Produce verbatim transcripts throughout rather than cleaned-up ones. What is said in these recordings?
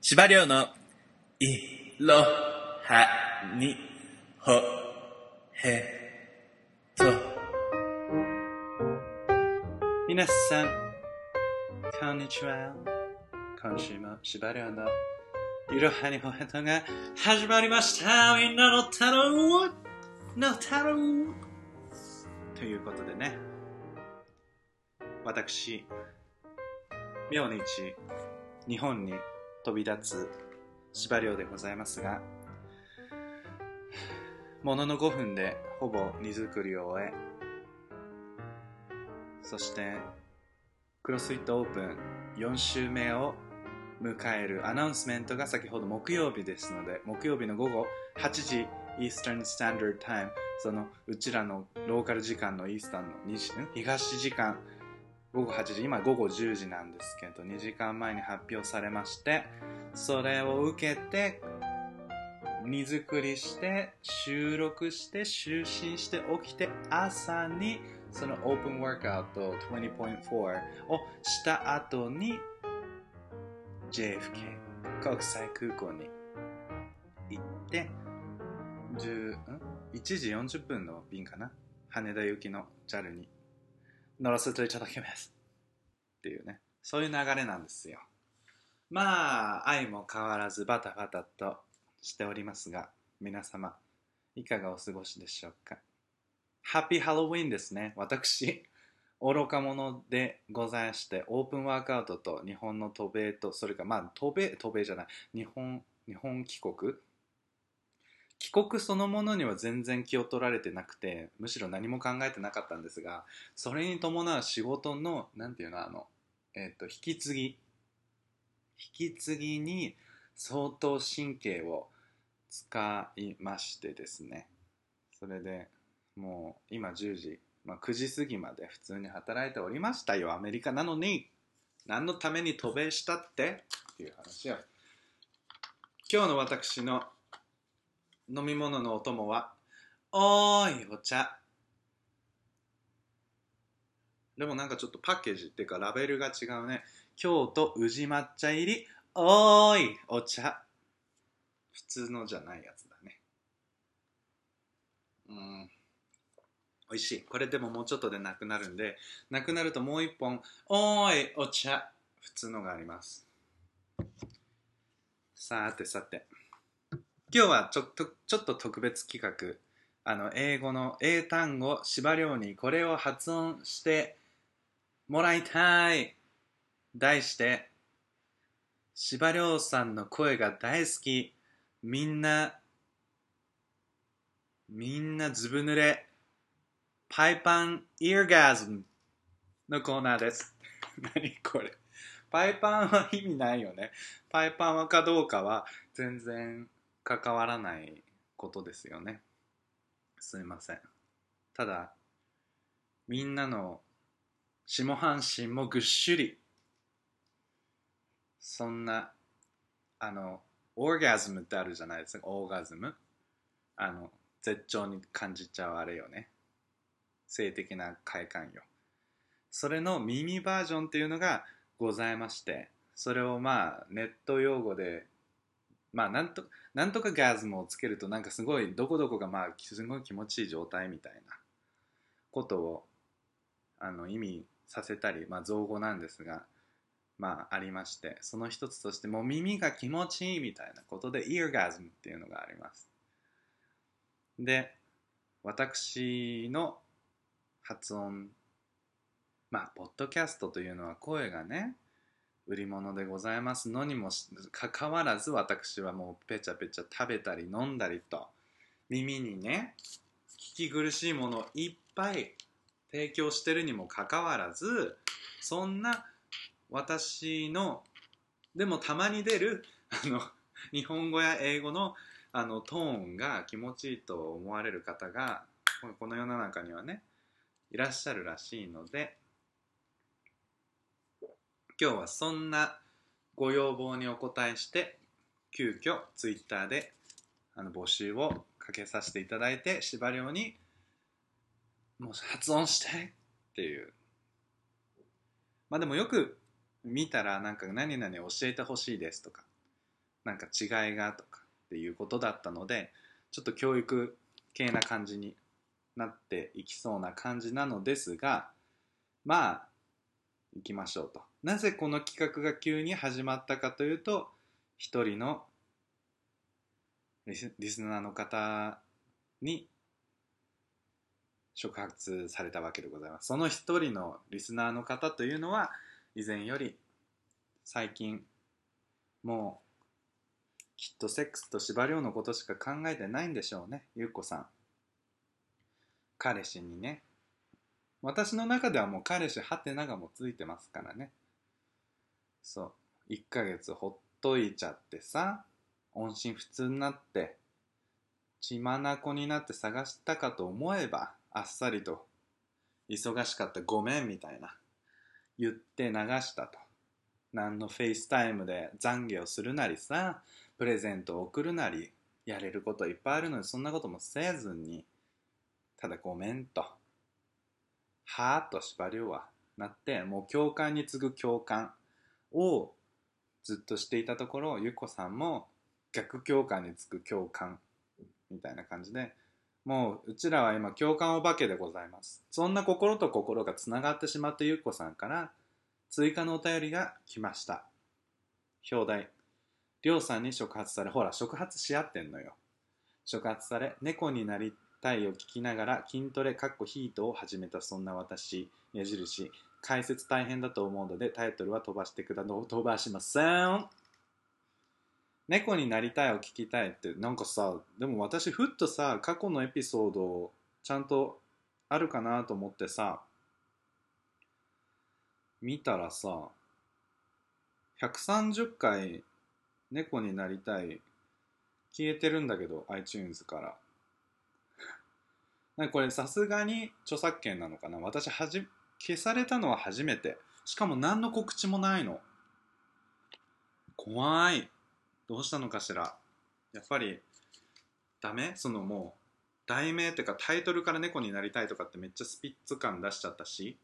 司馬遼のいろはにほへと。皆さんこんにちは。今週も司馬遼のいろはにほへとが始まりました。みんなの太郎の太郎ということでね、私明日日本に飛び立つ司馬遼でございますが、もののごふんでほぼ荷造りを終え、そしてクロスフィットオープンよん週目を迎えるアナウンスメントが先ほど木曜日ですので、木曜日の午後はちじイースタンスタンダードタイム、そのうちらのローカル時間のイースタンのにじ東時間午後はちじ、今午後じゅうじなんですけど、にじかんまえに発表されまして、それを受けて荷造りして収録して就寝して起きて、朝にそのオープンワークアウト にじゅうてんよん をした後に ジェイエフケー 国際空港に行ってじゅういちじよんじゅっぷんの便かな、羽田行きの ジャル に乗らせていただきますっていうね、そういう流れなんですよ。まあ愛も変わらずバタバタとしておりますが、皆様いかがお過ごしでしょうか。ハッピーハロウィンですね。私愚か者でございまして、オープンワークアウトと日本の渡米と、それからまあ渡米渡米じゃない日本日本帰国帰国そのものには全然気を取られてなくて、むしろ何も考えてなかったんですが、それに伴う仕事のなんていうの、あのえっと引き継ぎ引き継ぎに相当神経を使いましてですね、それでもう今じゅうじ、まあ、くじ過ぎまで普通に働いておりましたよ。アメリカなのに何のために渡米したってっていう話を。今日の私の飲み物のお供はおーいお茶。でもなんかちょっとパッケージっていうかラベルが違うね。京都宇治抹茶入りおーいお茶。普通のじゃないやつだね。うん、美味しい。これでももうちょっとでなくなるんで、なくなるともう一本おーいお茶普通のがあります。さてさて、今日はちょっとちょっと特別企画、あの英語の英単語司馬遼にこれを発音してもらいたい。題して司馬遼さんの声が大好き、みんなみんなずぶ濡れパイパンイヤーガズムのコーナーです。何これ、パイパンは意味ないよね。パイパンはかどうかは全然関わらないことですよね。すいません。ただみんなの下半身もぐっしゅり、そんなあのオーガズムってあるじゃないですか。オーガズム、あの絶頂に感じちゃうあれよね、性的な快感よ。それの耳バージョンっていうのがございまして、それをまあネット用語でまあなんとなんとかガズムをつけるとなんかすごいどこどこがまあすごい気持ちいい状態みたいなことをあの意味させたり、まあ造語なんですが、まあありまして、その一つとしてもう耳が気持ちいいみたいなことでイヤーガズムっていうのがあります。で、私の発音、まあポッドキャストというのは声がね売り物でございますのにもかかわらず、私はもうペチャペチャ食べたり飲んだりと耳にね聞き苦しいものをいっぱい提供してるにもかかわらず、そんな私のでもたまに出るあの日本語や英語のあのトーンが気持ちいいと思われる方がこの世の中にはねいらっしゃるらしいので、今日はそんなご要望にお答えして急遽ツイッターであの募集をかけさせていただいて、司馬遼にもう発音してっていう、まあでもよく見たらなんか何々教えてほしいですとかなんか違いがとかっていうことだったので、ちょっと教育系な感じになっていきそうな感じなのですが、まあ行きましょうと。なぜこの企画が急に始まったかというと、一人のリス、リスナーの方に触発されたわけでございます。その一人のリスナーの方というのは、以前より最近もうきっとセックスと司馬遼のことしか考えてないんでしょうね、ゆっこさん。彼氏にね、私の中ではもう彼氏ハテナがもうついてますからね。そう、いっかげつほっといちゃってさ、音信不通になって血眼になって探したかと思えば、あっさりと忙しかったごめんみたいな言って流したと。何のフェイスタイムで懺悔をするなりさ、プレゼントを送るなり、やれることいっぱいあるのに、そんなこともせずに、ただごめんと、はーっと司馬遼はなって、もう共感に次ぐ共感をずっとしていたところ、ゆっこさんも逆共感に次ぐ共感みたいな感じで、もううちらは今共感お化けでございます。そんな心と心がつながってしまったゆっこさんから追加のお便りが来ました。表題、りょうさんに触発され、ほら触発し合ってんのよ。触発され、猫になりたいを聞きながら筋トレかっこヒートを始めたそんな私、矢印、解説大変だと思うのでタイトルは飛ばしてくだの飛ばしません。猫になりたいを聞きたいって、なんかさ、でも私ふっとさ、過去のエピソードをちゃんとあるかなと思ってさ、見たらさ、ひゃくさんじゅっかい猫になりたい消えてるんだけど、 iTunes から。なんかこれさすがに著作権なのかな。私はじ消されたのは初めて。しかも何の告知もないの。怖い。どうしたのかしら。やっぱりダメ？そのもう題名っていうかタイトルから猫になりたいとかってめっちゃスピッツ感出しちゃったし、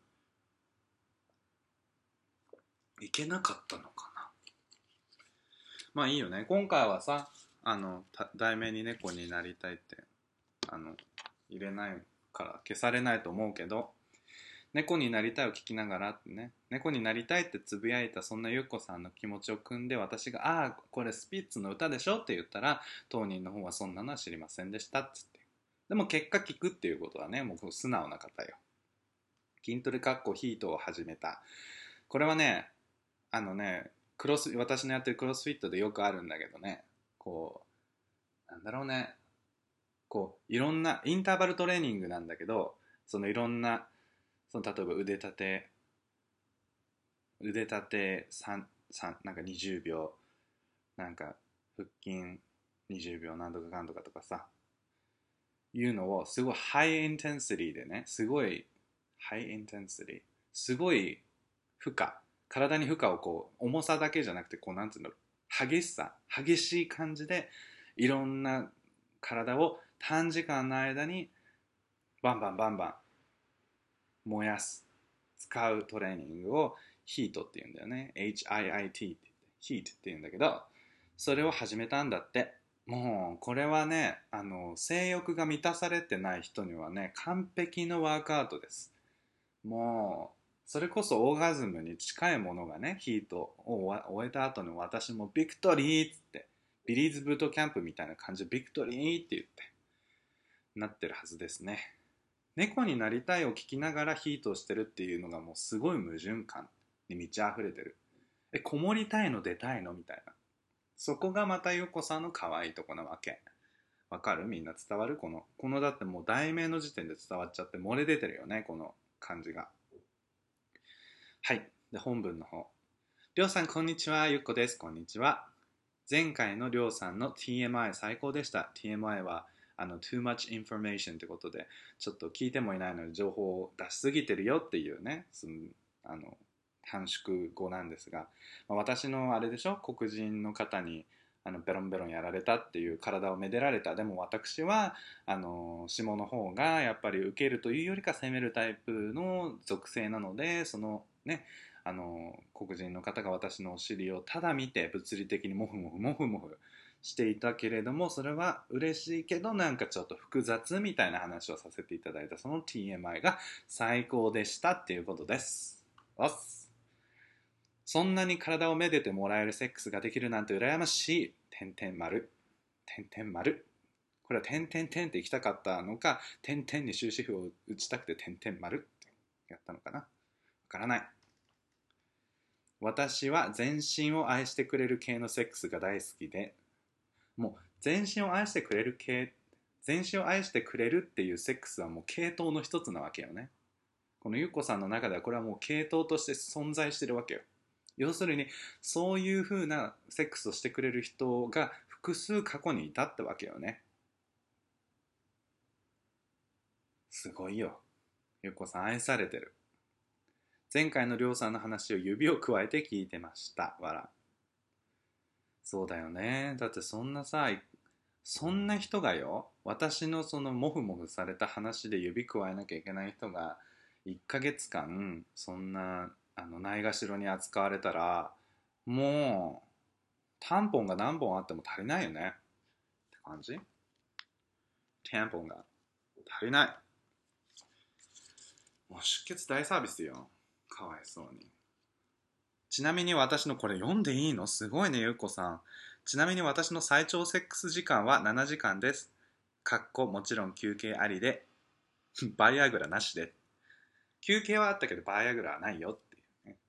いけなかったのかな。まあいいよね。今回はさ、あの題名に猫になりたいってあの入れないから消されないと思うけど、猫になりたいを聞きながらってね、猫になりたいってつぶやいたそんなゆっこさんの気持ちを汲んで、私がああこれスピッツの歌でしょって言ったら、当人の方はそんなのは知りませんでしたっつって。でも結果聞くっていうことはね、もう素直な方よ。筋トレかっこヒートを始めた。これはね、あのね、クロス私のやってるクロスフィットでよくあるんだけどね、こうなんだろうね、こういろんなインターバルトレーニングなんだけど、そのいろんなその例えば腕立て腕立て3、3なんかにじゅうびょう、なんか腹筋にじゅうびょうなんとかかんとかとかさ、いうのをすごいハイインテンシティでね、すごいハイインテンシティ、すごい負荷、体に負荷をこう重さだけじゃなくて、こうなんていうの、激しさ、激しい感じでいろんな体を短時間の間にバンバンバンバン燃やす、使うトレーニングをヒートって言うんだよね。エイチアイアイティー って言って、ヒートって言うんだけど、それを始めたんだって。もうこれはね、あの性欲が満たされてない人にはね、完璧のワークアウトです。もうそれこそオーガズムに近いものがね、ヒートを終えた後の私もビクトリーっつって、ビリーズブートキャンプみたいな感じでビクトリーって言ってなってるはずですね。猫になりたいを聞きながらヒートをしてるっていうのがもうすごい矛盾感に満ち溢れてる。え、こもりたいの出たいのみたいな。そこがまたゆっこさんの可愛いとこなわけ。わかる？みんな伝わる？この、このだってもう題名の時点で伝わっちゃって漏れ出てるよね、この感じが。はい。で、本文の方。りょうさん、こんにちは。ゆっこです。こんにちは。前回のりょうさんの ティーエムアイ 最高でした。ティーエムアイ は、あの、too much information ってことで、ちょっと聞いてもいないのに情報を出しすぎてるよっていうね、その、あの、短縮語なんですが、まあ、私のあれでしょ、黒人の方にあのベロンベロンやられたっていう、体をめでられた。でも私はあの下の方がやっぱり受けるというよりか攻めるタイプの属性なので、そのね、 あの黒人の方が私のお尻をただ見て物理的にモフモフモフモフしていたけれども、それは嬉しいけどなんかちょっと複雑みたいな話をさせていただいた、その ティーエムアイ が最高でしたっていうことです。おっす。そんなに体をめでてもらえるセックスができるなんて羨ましい。点々丸。点々丸。これは点々点って行きたかったのか、点々に終止符を打ちたくて点々丸ってやったのかな。わからない。私は全身を愛してくれる系のセックスが大好きで、もう全身を愛してくれる系、全身を愛してくれるっていうセックスはもう系統の一つなわけよね。このゆっこさんの中ではこれはもう系統として存在してるわけよ。要するにそういう風なセックスをしてくれる人が複数過去にいたってわけよね。すごいよ。ゆっこさん愛されてる。前回のりょうさんの話を指をくわえて聞いてました。わら。そうだよね。だってそんなさ、そんな人がよ、私のそのモフモフされた話で指くわえなきゃいけない人がいっかげつかんそんなあのないがしろに扱われたら、もうタンポンが何本あっても足りないよねって感じ。タンポンが足りない。もう出血大サービスよ。かわいそうに。ちなみに私のこれ読んでいいの？すごいね、ゆうこさん。ちなみに私の最長セックス時間はななじかんです。かっこもちろん休憩ありで、バイアグラなしで。休憩はあったけどバイアグラはないよっていうね。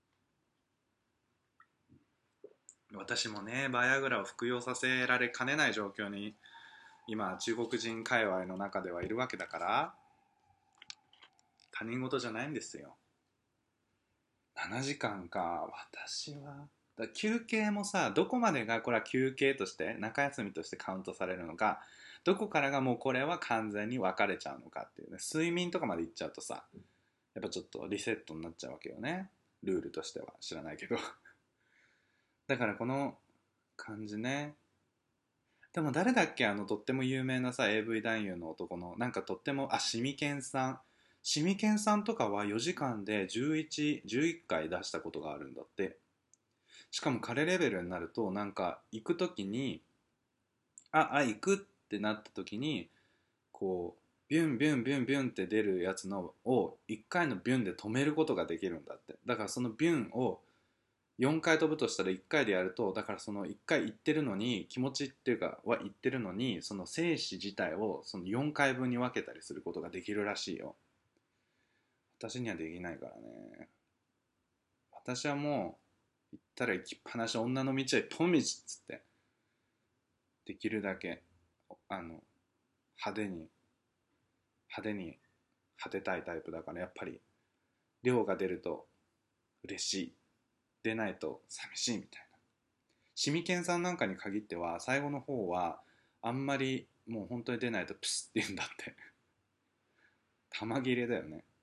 私もね、バイアグラを服用させられかねない状況に今中国人界隈の中ではいるわけだから、他人事じゃないんですよ。ななじかんか。私はだ休憩もさ、どこまでがこれは休憩として中休みとしてカウントされるのか、どこからがもうこれは完全に分かれちゃうのかっていうね。睡眠とかまでいっちゃうとさ、やっぱちょっとリセットになっちゃうわけよね、ルールとしては。知らないけどだからこの感じね。でも誰だっけ、あのとっても有名なさ エーブイ 男優の男のなんかとっても、あ、シミケンさん。シミケンさんとかはよじかんでじゅういち、じゅういっかい出したことがあるんだって。しかも彼レベルになるとなんか行く時に、ああ行くってなった時にこうビュンビュンビュンビュンって出るやつのをいっかいのビュンで止めることができるんだって。だからそのビュンをよんかい飛ぶとしたらいっかいでやると、だからそのいっかい行ってるのに気持ちっていうかは行ってるのに、その精子自体をそのよんかいぶんに分けたりすることができるらしいよ。私にはできないからね。私はもう行ったら行きっぱなし、女の道は一本道っつって、できるだけあの派手に派手に果てたいタイプだから、やっぱり量が出ると嬉しい、出ないと寂しいみたいな。シミケンさんなんかに限っては最後の方はあんまりもう本当に出ないとプスって言うんだって玉切れだよね。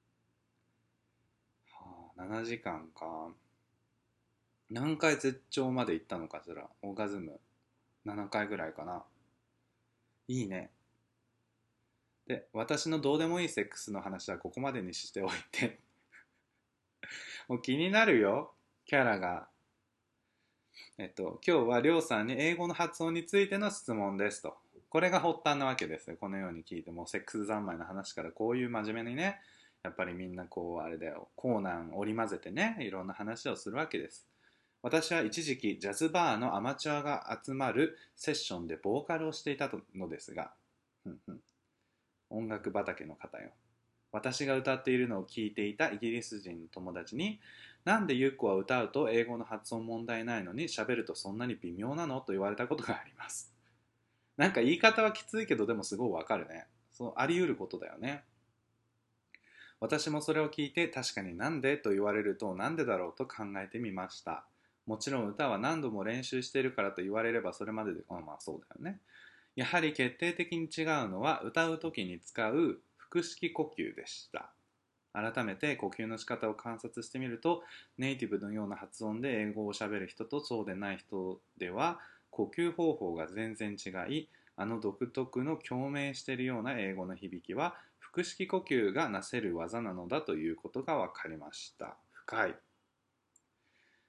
はあ、ななじかんか。何回絶頂まで行ったのかしら。オーガズムななかいぐらいかな。いいね。で、私のどうでもいいセックスの話はここまでにしておいてもう気になるよ、キャラが。えっと、今日はりょうさんに英語の発音についての質問ですと。これが発端なわけですよ。このように聞いても、セックス三昧の話からこういう真面目にね、やっぱりみんなこう、あれだよ、コーナー織り交ぜてね、いろんな話をするわけです。私は一時期ジャズバーのアマチュアが集まるセッションでボーカルをしていたのですが、ふんふん、音楽畑の方よ。私が歌っているのを聞いていたイギリス人の友達に、なんでゆっこは歌うと英語の発音問題ないのに喋るとそんなに微妙なのと言われたことがあります。なんか言い方はきついけど、でもすごいわかるね。そうあり得ることだよね。私もそれを聞いて、確かになんでと言われるとなんでだろうと考えてみました。もちろん歌は何度も練習しているからと言われればそれまでで、まあまあそうだよね。やはり決定的に違うのは歌う時に使う腹式呼吸でした。改めて呼吸の仕方を観察してみると、ネイティブのような発音で英語をしゃべる人とそうでない人では呼吸方法が全然違い、あの独特の共鳴しているような英語の響きは腹式呼吸がなせる技なのだということが分かりました。深い。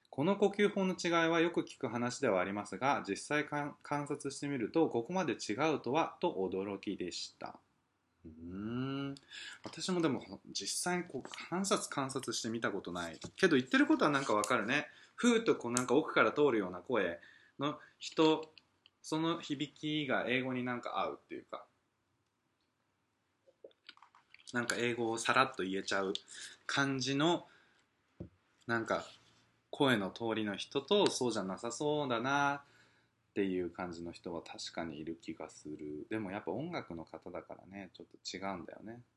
この呼吸法の違いはよく聞く話ではありますが、実際観察してみるとここまで違うとはと驚きでした。うーん私もでも実際にこう観察観察してみたことないけど、言ってることはなんかわかるね。ふーっとこうなんか奥から通るような声の人、その響きが英語になんか合うっていうか、なんか英語をさらっと言えちゃう感じのなんか声の通りの人と、そうじゃなさそうだなっていう感じの人は確かにいる気がする。でもやっぱ音楽の方だからね、ちょっと違うんだよね。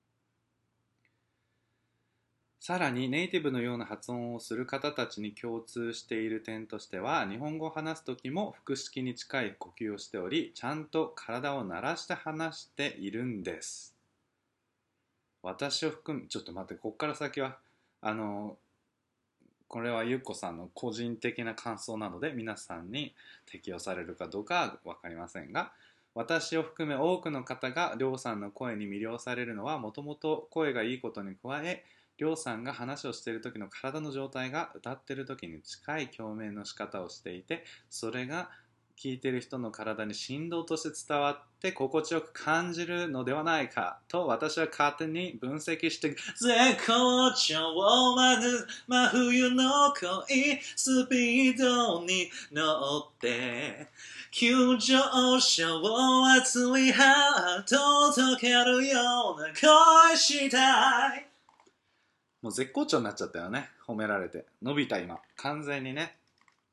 さらにネイティブのような発音をする方たちに共通している点としては、日本語を話す時も腹式に近い呼吸をしており、ちゃんと体を鳴らして話しているんです。私を含む、ちょっと待って、こっから先はあのこれはゆっこさんの個人的な感想なので皆さんに適用されるかどうかは分かりませんが、私を含め多くの方がりょうさんの声に魅了されるのは、もともと声がいいことに加え、りょうさんが話をしている時の体の状態が歌っている時に近い共鳴の仕方をしていて、それが聞いている人の体に振動として伝わって心地よく感じるのではないかと私は勝手に分析して、絶好調をまず真冬の恋スピードに乗って急上昇を熱いハートを溶けるような恋したい。もう絶好調になっちゃったよね、褒められて。伸びた今完全にね。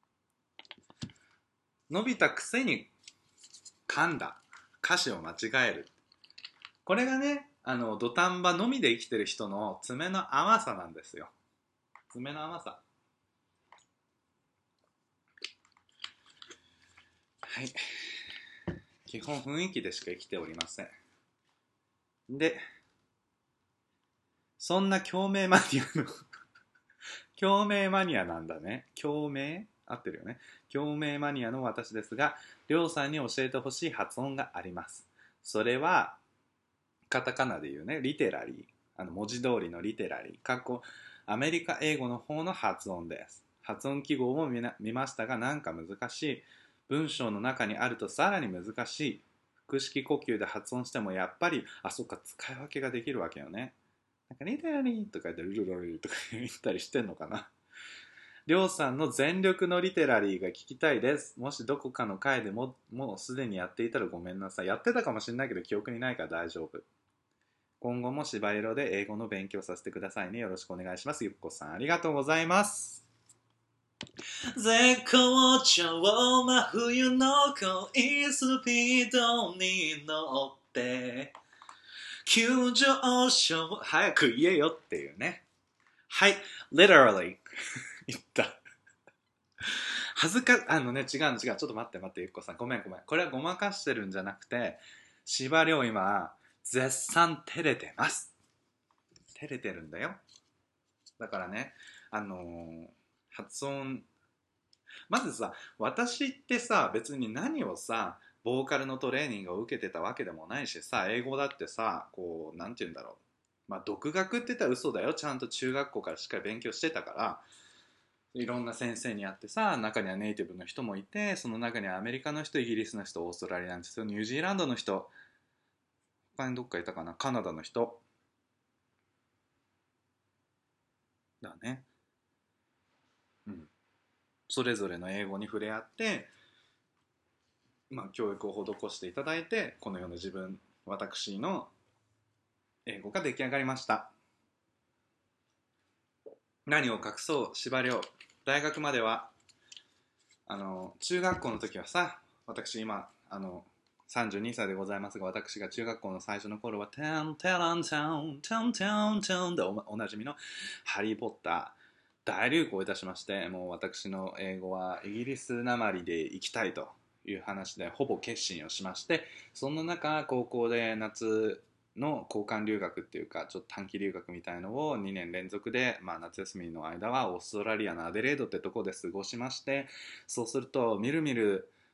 伸びたくせに噛んだ、歌詞を間違える。これがね、あの土壇場のみで生きてる人の爪の甘さなんですよ。爪の甘さ。はい。基本雰囲気でしか生きておりません。で、そんな共鳴マニアの共鳴マニアなんだね。共鳴合ってるよね。共鳴マニアの私ですが、りょうさんに教えてほしい発音があります。それはカタカナで言うね、リテラリー、あの文字通りのリテラリー、かっこアメリカ英語の方の発音です。発音記号も 見, な見ましたが、なんか難しい。文章の中にあるとさらに難しい。腹式呼吸で発音してもやっぱり、あ、そっか、使い分けができるわけよね。なんかリテラリーとか言ってルルルルとか言ったりしてんのかな。りょうさんの全力のリテラリーが聞きたいです。もしどこかの回でももうすでにやっていたらごめんなさい。やってたかもしれないけど記憶にないから大丈夫。今後も芝色で英語の勉強させてくださいね。よろしくお願いします。ゆっこさん、ありがとうございます。絶好調真冬の恋スピードに乗って急上昇早く言えよっていうね。はい、literally 言った。恥ずか、あのね、違うの違う。ちょっと待って待って、ゆっこさん。ごめんごめん。これはごまかしてるんじゃなくて、芝涼今、絶賛照れてます。照れてるんだよ。だからね、あのー、発音、まずさ、私ってさ、別に何をさ、ボーカルのトレーニングを受けてたわけでもないしさ、英語だってさ、こう、なんて言うんだろう。まあ、独学って言ったら嘘だよ。ちゃんと中学校からしっかり勉強してたから、いろんな先生に会ってさ、中にはネイティブの人もいて、その中にはアメリカの人、イギリスの人、オーストラリアの人、ニュージーランドの人、他にどっかいたかな、カナダの人だね。うん。それぞれの英語に触れ合って、まあ、教育を施していただいて、このような自分、私の英語が出来上がりました。何を隠そう、司馬遼。大学までは、あの、中学校の時はさ、私今、あの、さんじゅうにさいでございますが、私が中学校の最初の頃は、テンテランテン、テンテンテンで お, おなじみのハリー・ポッター、大流行いたしまして、もう私の英語はイギリスなまりで行きたいという話でほぼ決心をしまして、そんな中、高校で夏の交換留学っていうか、ちょっと短期留学みたいのをにねん連続で、まあ、夏休みの間はオーストラリアのアデレードってとこで過ごしまして、そうするとみるみる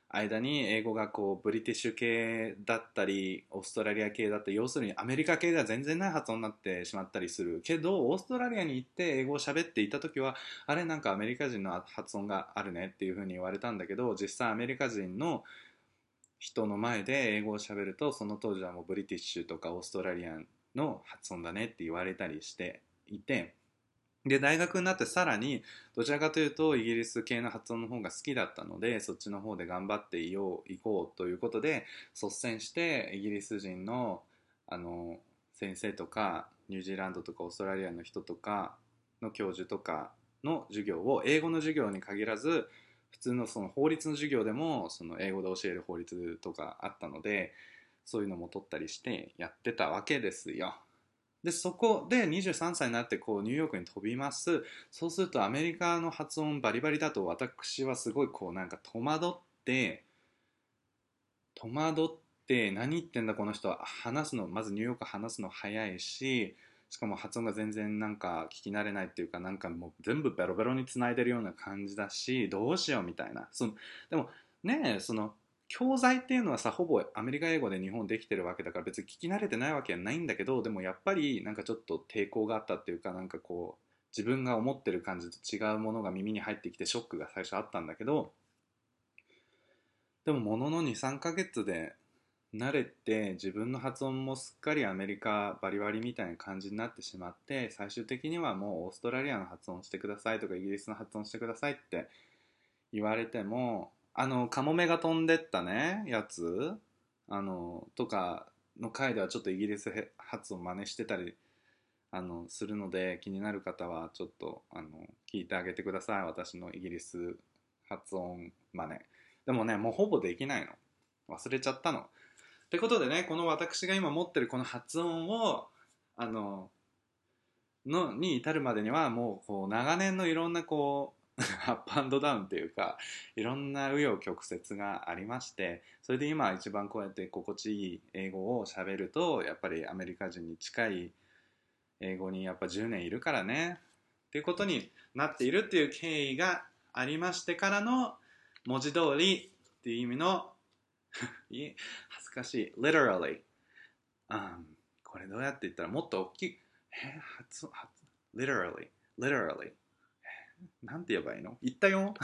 間に英語がこうブリティッシュ系だったりオーストラリア系だったり、要するにアメリカ系では全然ない発音になってしまったりするけど、オーストラリアに行って英語を喋っていた時はあれなんかアメリカ人の発音があるねっていう風に言われたんだけど、実際アメリカ人の人の前で英語を喋ると、その当時はもうブリティッシュとかオーストラリアンの発音だねって言われたりしていて、で大学になってさらにどちらかというとイギリス系の発音の方が好きだったので、そっちの方で頑張っていよう行こうということで率先してイギリス人のあの先生とかニュージーランドとかオーストラリアの人とかの教授とかの授業を、英語の授業に限らず普通のその法律の授業でもその英語で教える法律とかあったので、そういうのも取ったりしてやってたわけですよ。でそこでにじゅうさんさいになってこうニューヨークに飛びます。そうするとアメリカの発音バリバリだと、私はすごいこうなんか戸惑って戸惑って何言ってんだこの人は、話すのまずニューヨーク話すの早いし、しかも発音が全然なんか聞き慣れないっていうか、なんかもう全部ベロベロにつないでるような感じだし、どうしようみたいな。そのでもねえ、その教材っていうのはさ、ほぼアメリカ英語で日本できてるわけだから別に聞き慣れてないわけはないんだけど、でもやっぱりなんかちょっと抵抗があったっていうか、なんかこう自分が思ってる感じと違うものが耳に入ってきてショックが最初あったんだけど、でももののにさんかげつで慣れて自分の発音もすっかりアメリカバリバリみたいな感じになってしまって、最終的にはもうオーストラリアの発音してくださいとかイギリスの発音してくださいって言われても、あのカモメが飛んでったねやつあのとかの回ではちょっとイギリス発音真似してたりあのするので、気になる方はちょっとあの聞いてあげてください、私のイギリス発音真似。でもねもうほぼできないの、忘れちゃったの。ってことでね、この私が今持ってるこの発音をあののに至るまでにはもうこう長年のいろんなこうアップアンドダウンっていうか、いろんな紆余曲折がありまして、それで今一番こうやって心地いい英語を喋ると、やっぱりアメリカ人に近い英語にやっぱじゅうねんいるからねっていうことになっているっていう経緯がありましてからの、文字通りっていう意味のい恥ずかしい literally、um, これどうやって言ったらもっと大きい、え発発 literally literally なんて言えばいいの、言ったよ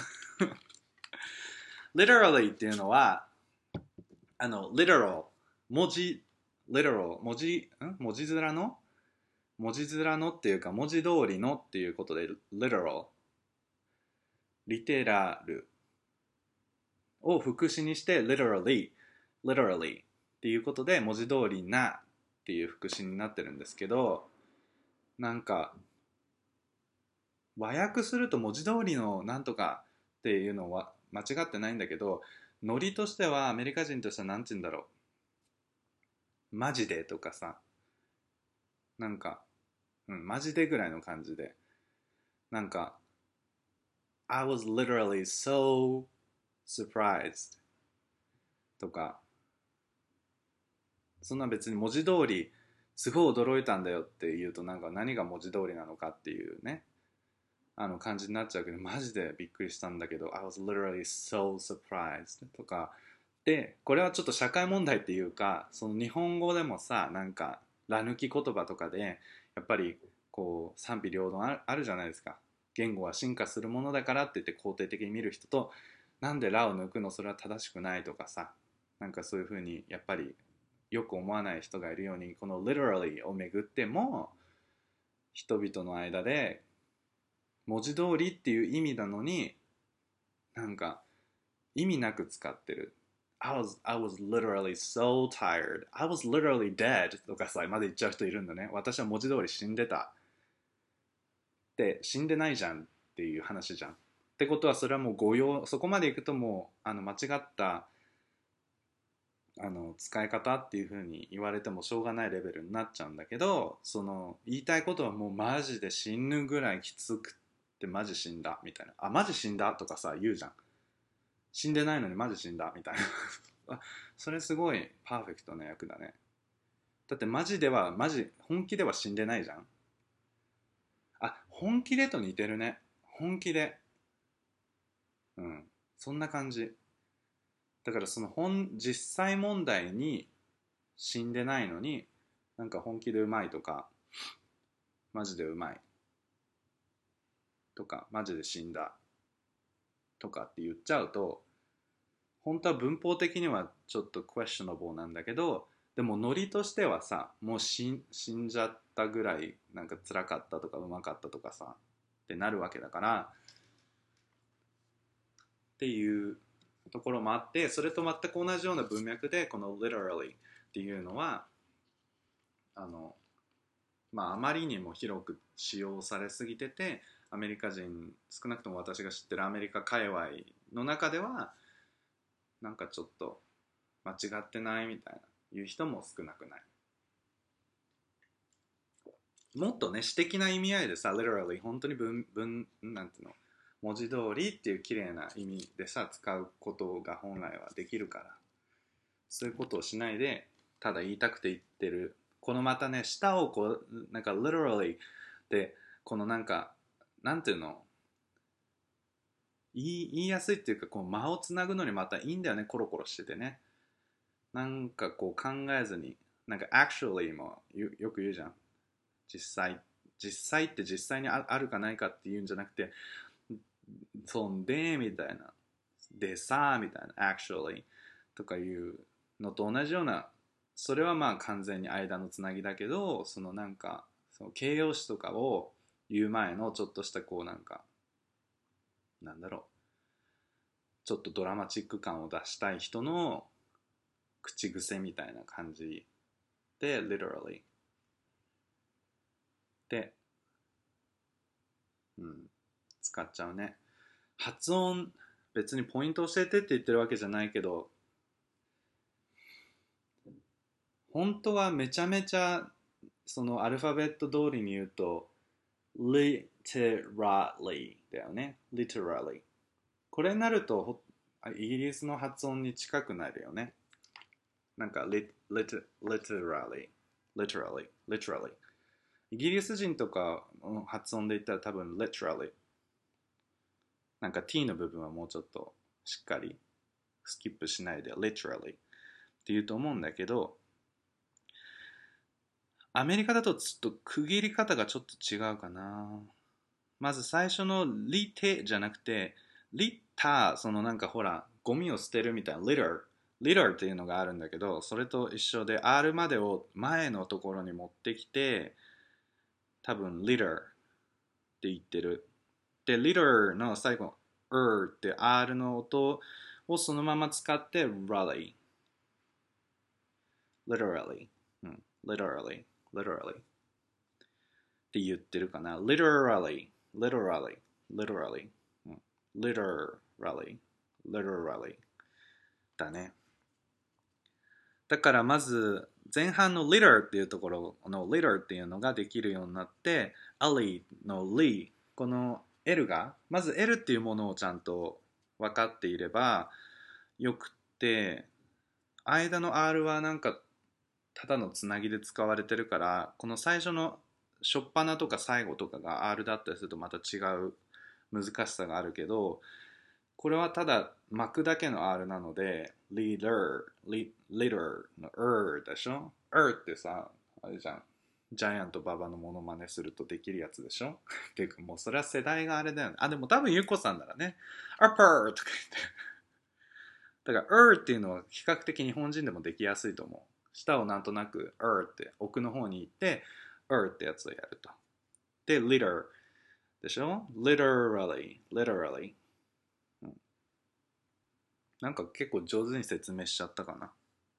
literally っていうのはあの literal 文字 literal 文字ん文字面の文字面のっていうか文字通りのっていうことで literal リテラルを副詞にして literally literally っていうことで文字通りなっていう副詞になってるんですけど、なんか和訳すると文字通りのなんとかっていうのは間違ってないんだけど、ノリとしてはアメリカ人としてはなんて言うんだろう、マジでとかさ、なんか、うん、マジでぐらいの感じで、なんか I was literally so surprised とか、そんな別に文字通りすごい驚いたんだよって言うと、なんか何が文字通りなのかっていうねあの感じになっちゃうけど、マジでびっくりしたんだけど I was literally so surprised とかで、これはちょっと社会問題っていうか、その日本語でもさ、なんから抜き言葉とかでやっぱりこう賛否両論あるあるじゃないですか。言語は進化するものだからって言って肯定的に見る人と、なんでらを抜くのそれは正しくないとかさ、なんかそういうふうにやっぱりよく思わない人がいるように、この literally をめぐっても人々の間で文字通りっていう意味なのに、なんか意味なく使ってる。I was, I was literally so tired. I was literally dead とかさ、まで言っちゃう人いるんだね。私は文字通り死んでた。って死んでないじゃんっていう話じゃん。ってことはそれはもう誤用、そこまでいくともうあの間違ったあの使い方っていう風に言われてもしょうがないレベルになっちゃうんだけど、その言いたいことはもうマジで死ぬぐらいきつくってマジ死んだみたいな、あマジ死んだとかさ言うじゃん、死んでないのにマジ死んだみたいなあそれすごいパーフェクトな役だね。だってマジではマジ本気では死んでないじゃん。あ本気でと似てるね、本気で、うんそんな感じ。 だからその本実際問題に死んでないのになんか本気でうまいとかマジでうまいとかマジで死んだとかって言っちゃうと本当は文法的にはちょっと questionable なんだけどでもノリとしてはさもう死ん、死んじゃったぐらいなんか辛かったとかうまかったとかさってなるわけだからっていうところもあってそれと全く同じような文脈でこの literally っていうのはあのまああまりにも広く使用されすぎててアメリカ人少なくとも私が知ってるアメリカ界隈の中ではなんかちょっと間違ってないみたいないう人も少なくないもっとね詩的な意味合いでさ literally 本当に文文なんていうの文字通りっていう綺麗な意味でさ使うことが本来はできるからそういうことをしないでただ言いたくて言ってるこのまたね舌をこうなんか literally でこのなんかなんていうの言い、言いやすいっていうかこう間をつなぐのにまたいいんだよねコロコロしててねなんかこう考えずになんか actually もよく言うじゃん実際実際って実際にあるかないかっていうんじゃなくてそんでみたいなでさみたいな actually とかいうのと同じようなそれはまあ完全に間のつなぎだけどそのなんかその形容詞とかを言う前のちょっとしたこうなんかなんだろうちょっとドラマチック感を出したい人の口癖みたいな感じで literally で、うん、使っちゃうね発音別にポイント教えてって言ってるわけじゃないけど本当はめちゃめちゃそのアルファベット通りに言うと literally だよね literally これになるとイギリスの発音に近くなるよねなんか lit, lit, literally literally literally イギリス人とかの発音で言ったら多分 literally なんか t の部分はもうちょっとしっかりスキップしないで literally って言うと思うんだけどアメリカだとちょっと区切り方がちょっと違うかなまず最初のリテじゃなくてリッターそのなんかほらゴミを捨てるみたいな litter litter っていうのがあるんだけどそれと一緒で R までを前のところに持ってきて多分 litter って言ってるで litter の最後 er って R の音をそのまま使って rally literally、うん、literally literally って言ってるかな literally literally literally、うん、literally literally だねだからまず前半の liter っていうところの liter っていうのができるようになって ali の li この L がまず L っていうものをちゃんと分かっていればよくって間の R はなんかただのつなぎで使われてるからこの最初の初っ端とか最後とかが R だったりするとまた違う難しさがあるけどこれはただ巻くだけの R なので leader leader の er でしょ er ってさあれじゃんジャイアント馬場のモノマネするとできるやつでしょっていうかもうそれは世代があれだよねあでも多分ゆっこさんならね upper とか言ってだから er っていうのは比較的日本人でもできやすいと思う舌をなんとなく er って奥の方に行って er ってやつをやるとで leader でしょ literally literallyなんか結構上手に説明しちゃったかな。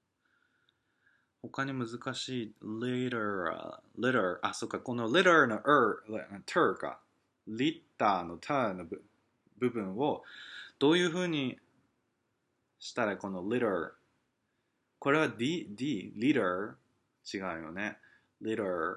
他に難しい litter, litter あ、そっか、この litter の er, ter か litter の ter の部分をどういう風にしたらこの litter これは d, d, litter 違うよね litter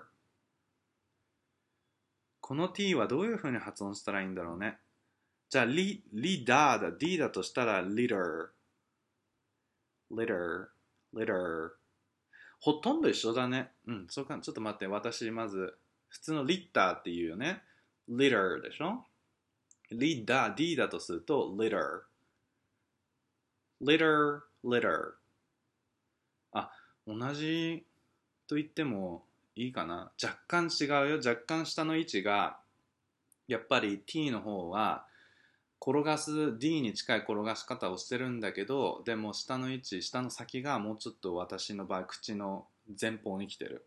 この t はどういう風に発音したらいいんだろうねじゃあ、リ、リダーだ。D だとしたら、litter, litter, litter. ほとんど一緒だね。うん、そうか。ちょっと待って。私、まず、普通のリッターっていうよね。litter でしょリダー、D だとすると、litter. litter, litter。あ、同じと言ってもいいかな。若干違うよ。若干下の位置が、やっぱり t の方は、転がす D に近い転がし方をしてるんだけど、でも下の位置、下の先がもうちょっと私の場合口の前方に来てる。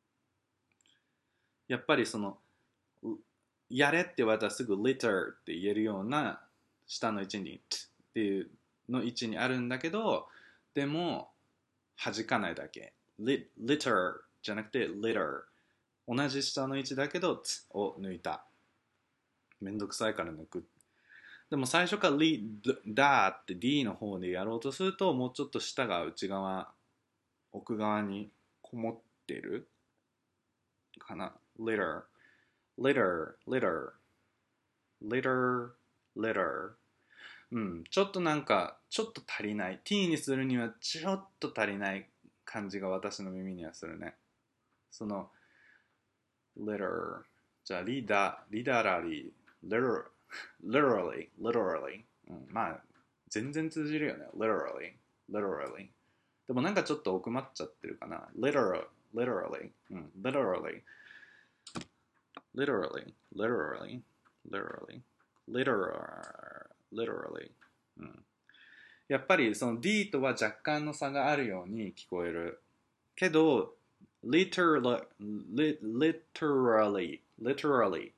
やっぱりそのやれって言われたらすぐ litter って言えるような下の位置に t っていうの位置にあるんだけど、でも弾かないだけ litter じゃなくて litter、 同じ下の位置だけど t を抜いた。めんどくさいから抜く。でも最初からリダーって D の方でやろうとすると、もうちょっと下が内側、奥側にこもってるかな。litter, litter, litter, litter, litter。うん、ちょっとなんか、ちょっと足りない。T にするにはちょっと足りない感じが私の耳にはするね。その、litter。じゃあ、リーダー、リダラリー、litter。literally, literally、うん、まあ全然通じるよね。literally, literally。でもなんかちょっと奥まっちゃってるかな。literal, literally、うん、literally, literally, literally, literally, literal, literally、うん。やっぱりその D とは若干の差があるように聞こえる。けど、literally, literally, literally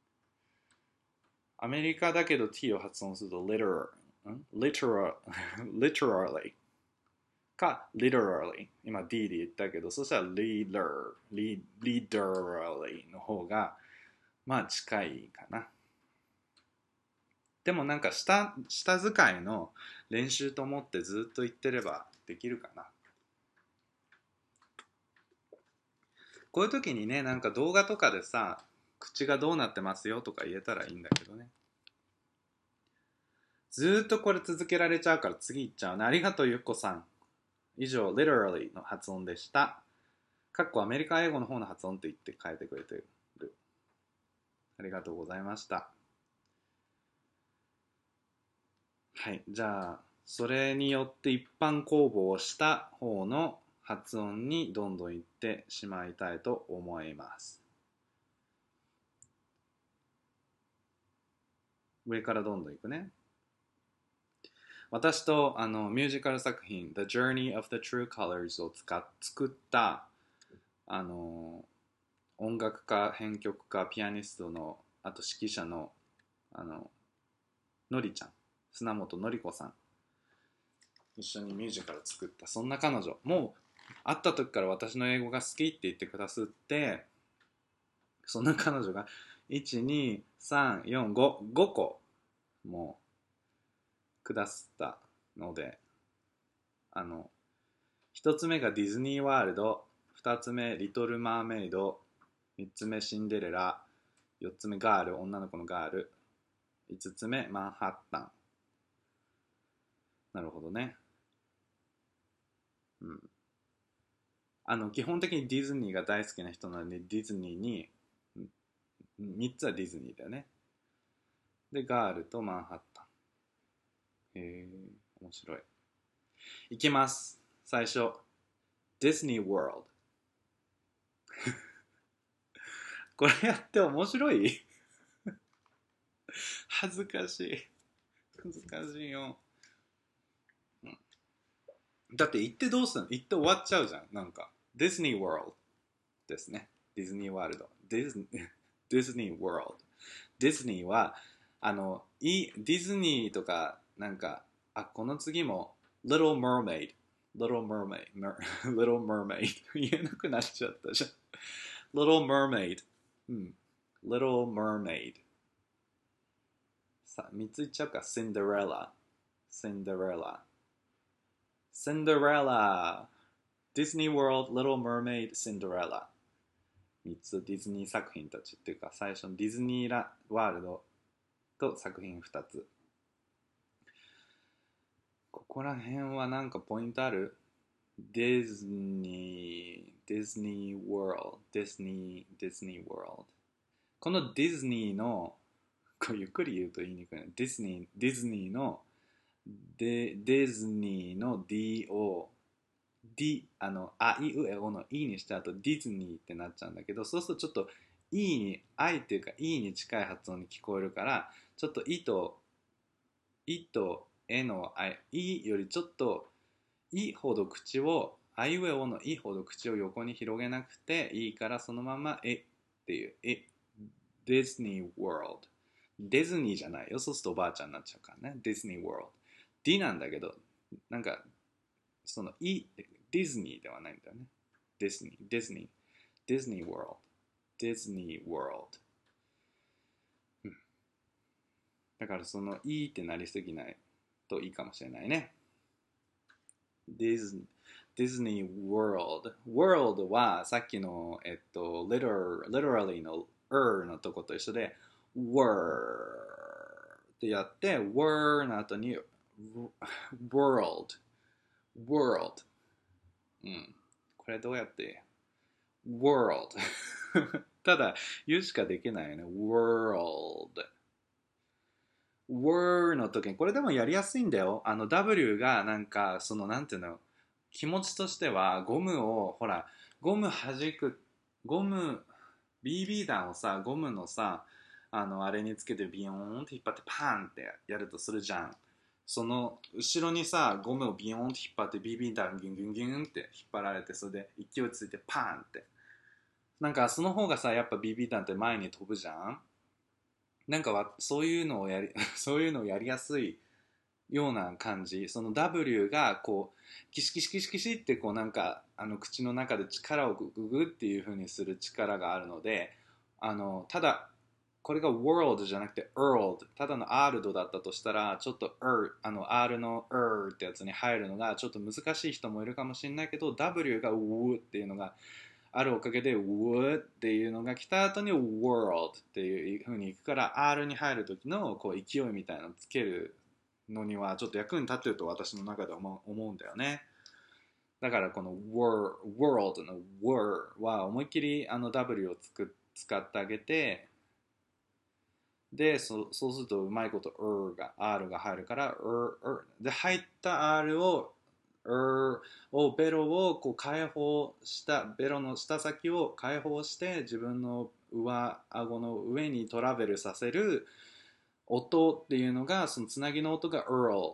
アメリカだけど t を発音すると literal, literal, literally か literally。今 d で言ったけど、そしたら leader, literally の方がまあ近いかな。でもなんか下、下使いの練習と思ってずっと言ってればできるかな。こういう時にね、なんか動画とかでさ、口がどうなってますよとか言えたらいいんだけどね。ずーっとこれ続けられちゃうから次行っちゃうね。ありがとうゆっこさん。以上 literally の発音でした。かっこアメリカ英語の方の発音って言って変えてくれてる。ありがとうございました。はい、じゃあそれによって一般公募をした方の発音にどんどん行ってしまいたいと思います。上からどんどん行くね。私とあのミュージカル作品 The Journey of the True Colors を使っ作ったあの音楽家、編曲家、ピアニストのあと指揮者のあののりちゃん、砂本のり子さん、一緒にミュージカル作った。そんな彼女もう会った時から私の英語が好きって言ってくださって、そんな彼女がいち、に、さん、よん、ご、ごこもうくださったので、あのひとつめがディズニーワールド、ふたつめリトルマーメイド、みっつめシンデレラ、よっつめガール、女の子のガール、いつつめマンハッタン。なるほどね。うん。あの基本的にディズニーが大好きな人なので、ディズニーにみっつはディズニーだよね。でガールとマンハッタン。へえ、面白い。いきます。最初ディズニーワールド。これやって面白い？恥ずかしい。恥ずかしいよ。うん、だって行ってどうするの？行って終わっちゃうじゃん。なんかディズニーワールドですね。ディズニーワールド。ディズニー、ディズニーワールド。ディズニーはあのいディズニーとかなんか、あ、この次も Little Mermaid Little Mermaid Little Mermaid 言えなくなっちゃったじゃん。Little Mermaid、うん、Little Mermaid。さあみっつ言っちゃうか。 Cinderella Cinderella Cinderella Disney World Little Mermaid Cinderella。みっつディズニー作品たちっていうか、最初のディズニーラワールドと作品ふたつ。ここら辺はなんかポイントある？ディズニー、ディズニーワールド、ディズニー、ディズニーワールド。このディズニーの、これゆっくり言うと言いにくいな。ディズニー、ディズニーので、ディズニーの D を、D、あの、あいうえおの E にした後、ディズニーってなっちゃうんだけど、そうするとちょっと E に、I っていうか E に近い発音に聞こえるから、ちょっと E と、E と E の I、E よりちょっと E ほど口を、あいうえおの E ほど口を横に広げなくていいから、そのままえっていう、え、ディズニーワールド。ディズニーじゃないよ。そうするとおばあちゃんになっちゃうからね。ディズニーワールド。D なんだけど、なんか、その E ってディズニーではないんだよね。ディズニー、ディズニー、ディズニーワールド。ディズニーワールド。うん。だからその E ってなりすぎないといいかもしれないね。ディズニー。ディズニー World。World はさっきの、えっと、literal, literally の er のとこと一緒で、word ってやって、word の後に world。world。うん。これどうやって world ただ言うしかできないよね。world。word の時に、これでもやりやすいんだよ。あの W がなんか、そのなんていうの、気持ちとしてはゴムをほらゴム弾くゴム ビービー 弾をさゴムのさあのあれにつけてビヨーンって引っ張ってパーンってやるとするじゃん。その後ろにさゴムをビヨーンって引っ張って ビービー 弾ギュンギュンギュンって引っ張られてそれで勢いついてパーンってなんかその方がさやっぱ ビービー 弾って前に飛ぶじゃん。なんかわそういうのをやりそういうのをやりやすいような感じ。その W がこうキシキシキシキシってこうなんかあの口の中で力をグググっていう風にする力があるので、あのただこれが world じゃなくて world ただの R ドだったとしたらちょっと R あの R の R ってやつに入るのがちょっと難しい人もいるかもしれないけど W が W っていうのがあるおかげで W っていうのが来た後に world っていう風にいくから R に入る時のこう勢いみたいなのつけるのにはちょっと役に立ってると私の中では思うんだよね。だからこの world の word は思いっきりあの W をつく使ってあげてで そ, そうするとうまいこと R が R が入るから R, R で入った R を R をベロをこう解放したベロの下先を解放して自分の上顎の上にトラベルさせる音っていうのがそのつなぎの音が Earl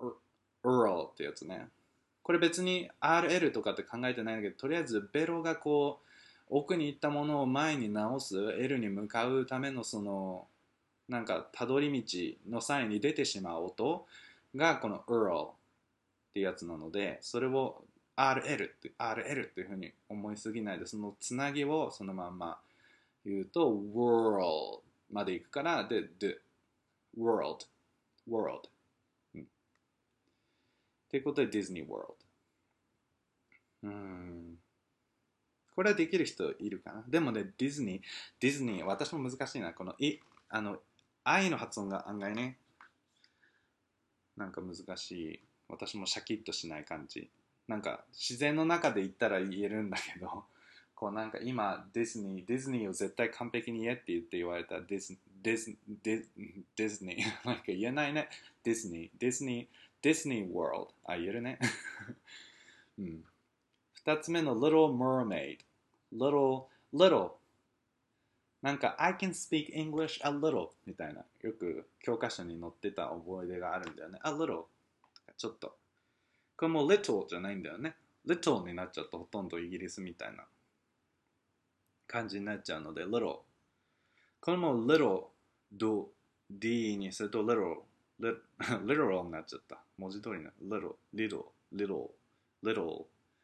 Earl ってやつね。これ別に アールエル とかって考えてないんだけどとりあえずベロがこう奥に行ったものを前に直す L に向かうためのそのなんかたどり道の際に出てしまう音がこの Earl ってやつなのでそれを アールエル って アールエル っていうふうに思いすぎないでそのつなぎをそのまんま言うと World まで行くからで、で World World、うん、っていうことでディズニーワールド。うーんこれはできる人いるかな。でもねディズニーディズニー私も難しいなこのいあの愛の発音が案外ねなんか難しい。私もシャキッとしない感じ。なんか自然の中で言ったら言えるんだけど、こうなんか今ディズニー、ディズニーを絶対完璧に言えって言って言われたディズディズディディズニーなんか言えないね。ディズニー、ディズニー、ディズニーワールド。あ、言えるね。うん。二つ目の Little Mermaid。Little, little なんか I can speak English a little みたいなよく教科書に載ってた覚え出があるんだよね。A little ちょっとこれも little じゃないんだよね。little になっちゃうとほとんどイギリスみたいな感じになっちゃうので little これも little do d にすると little literal になっちゃった文字通りな little little little little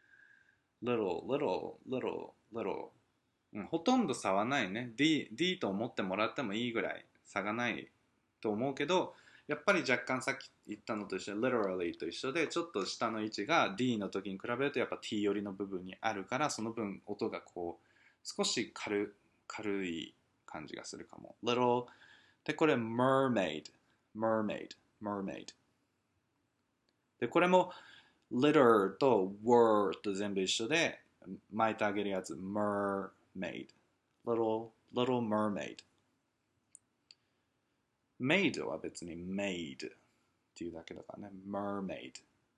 little little little littleうん、ほとんど差はないね。D, D と思ってもらってもいいぐらい差がないと思うけど、やっぱり若干さっき言ったのと一緒で literally と一緒でちょっと下の位置が D の時に比べるとやっぱ T 寄りの部分にあるからその分音がこう少し 軽, 軽い感じがするかも。little でこれ mermaid mermaid mermaid でこれも litter と word と全部一緒で巻いてあげるやつ mer Maid. Little, little mermaid. Maid は別に maid ていうだけだからね。mermaid。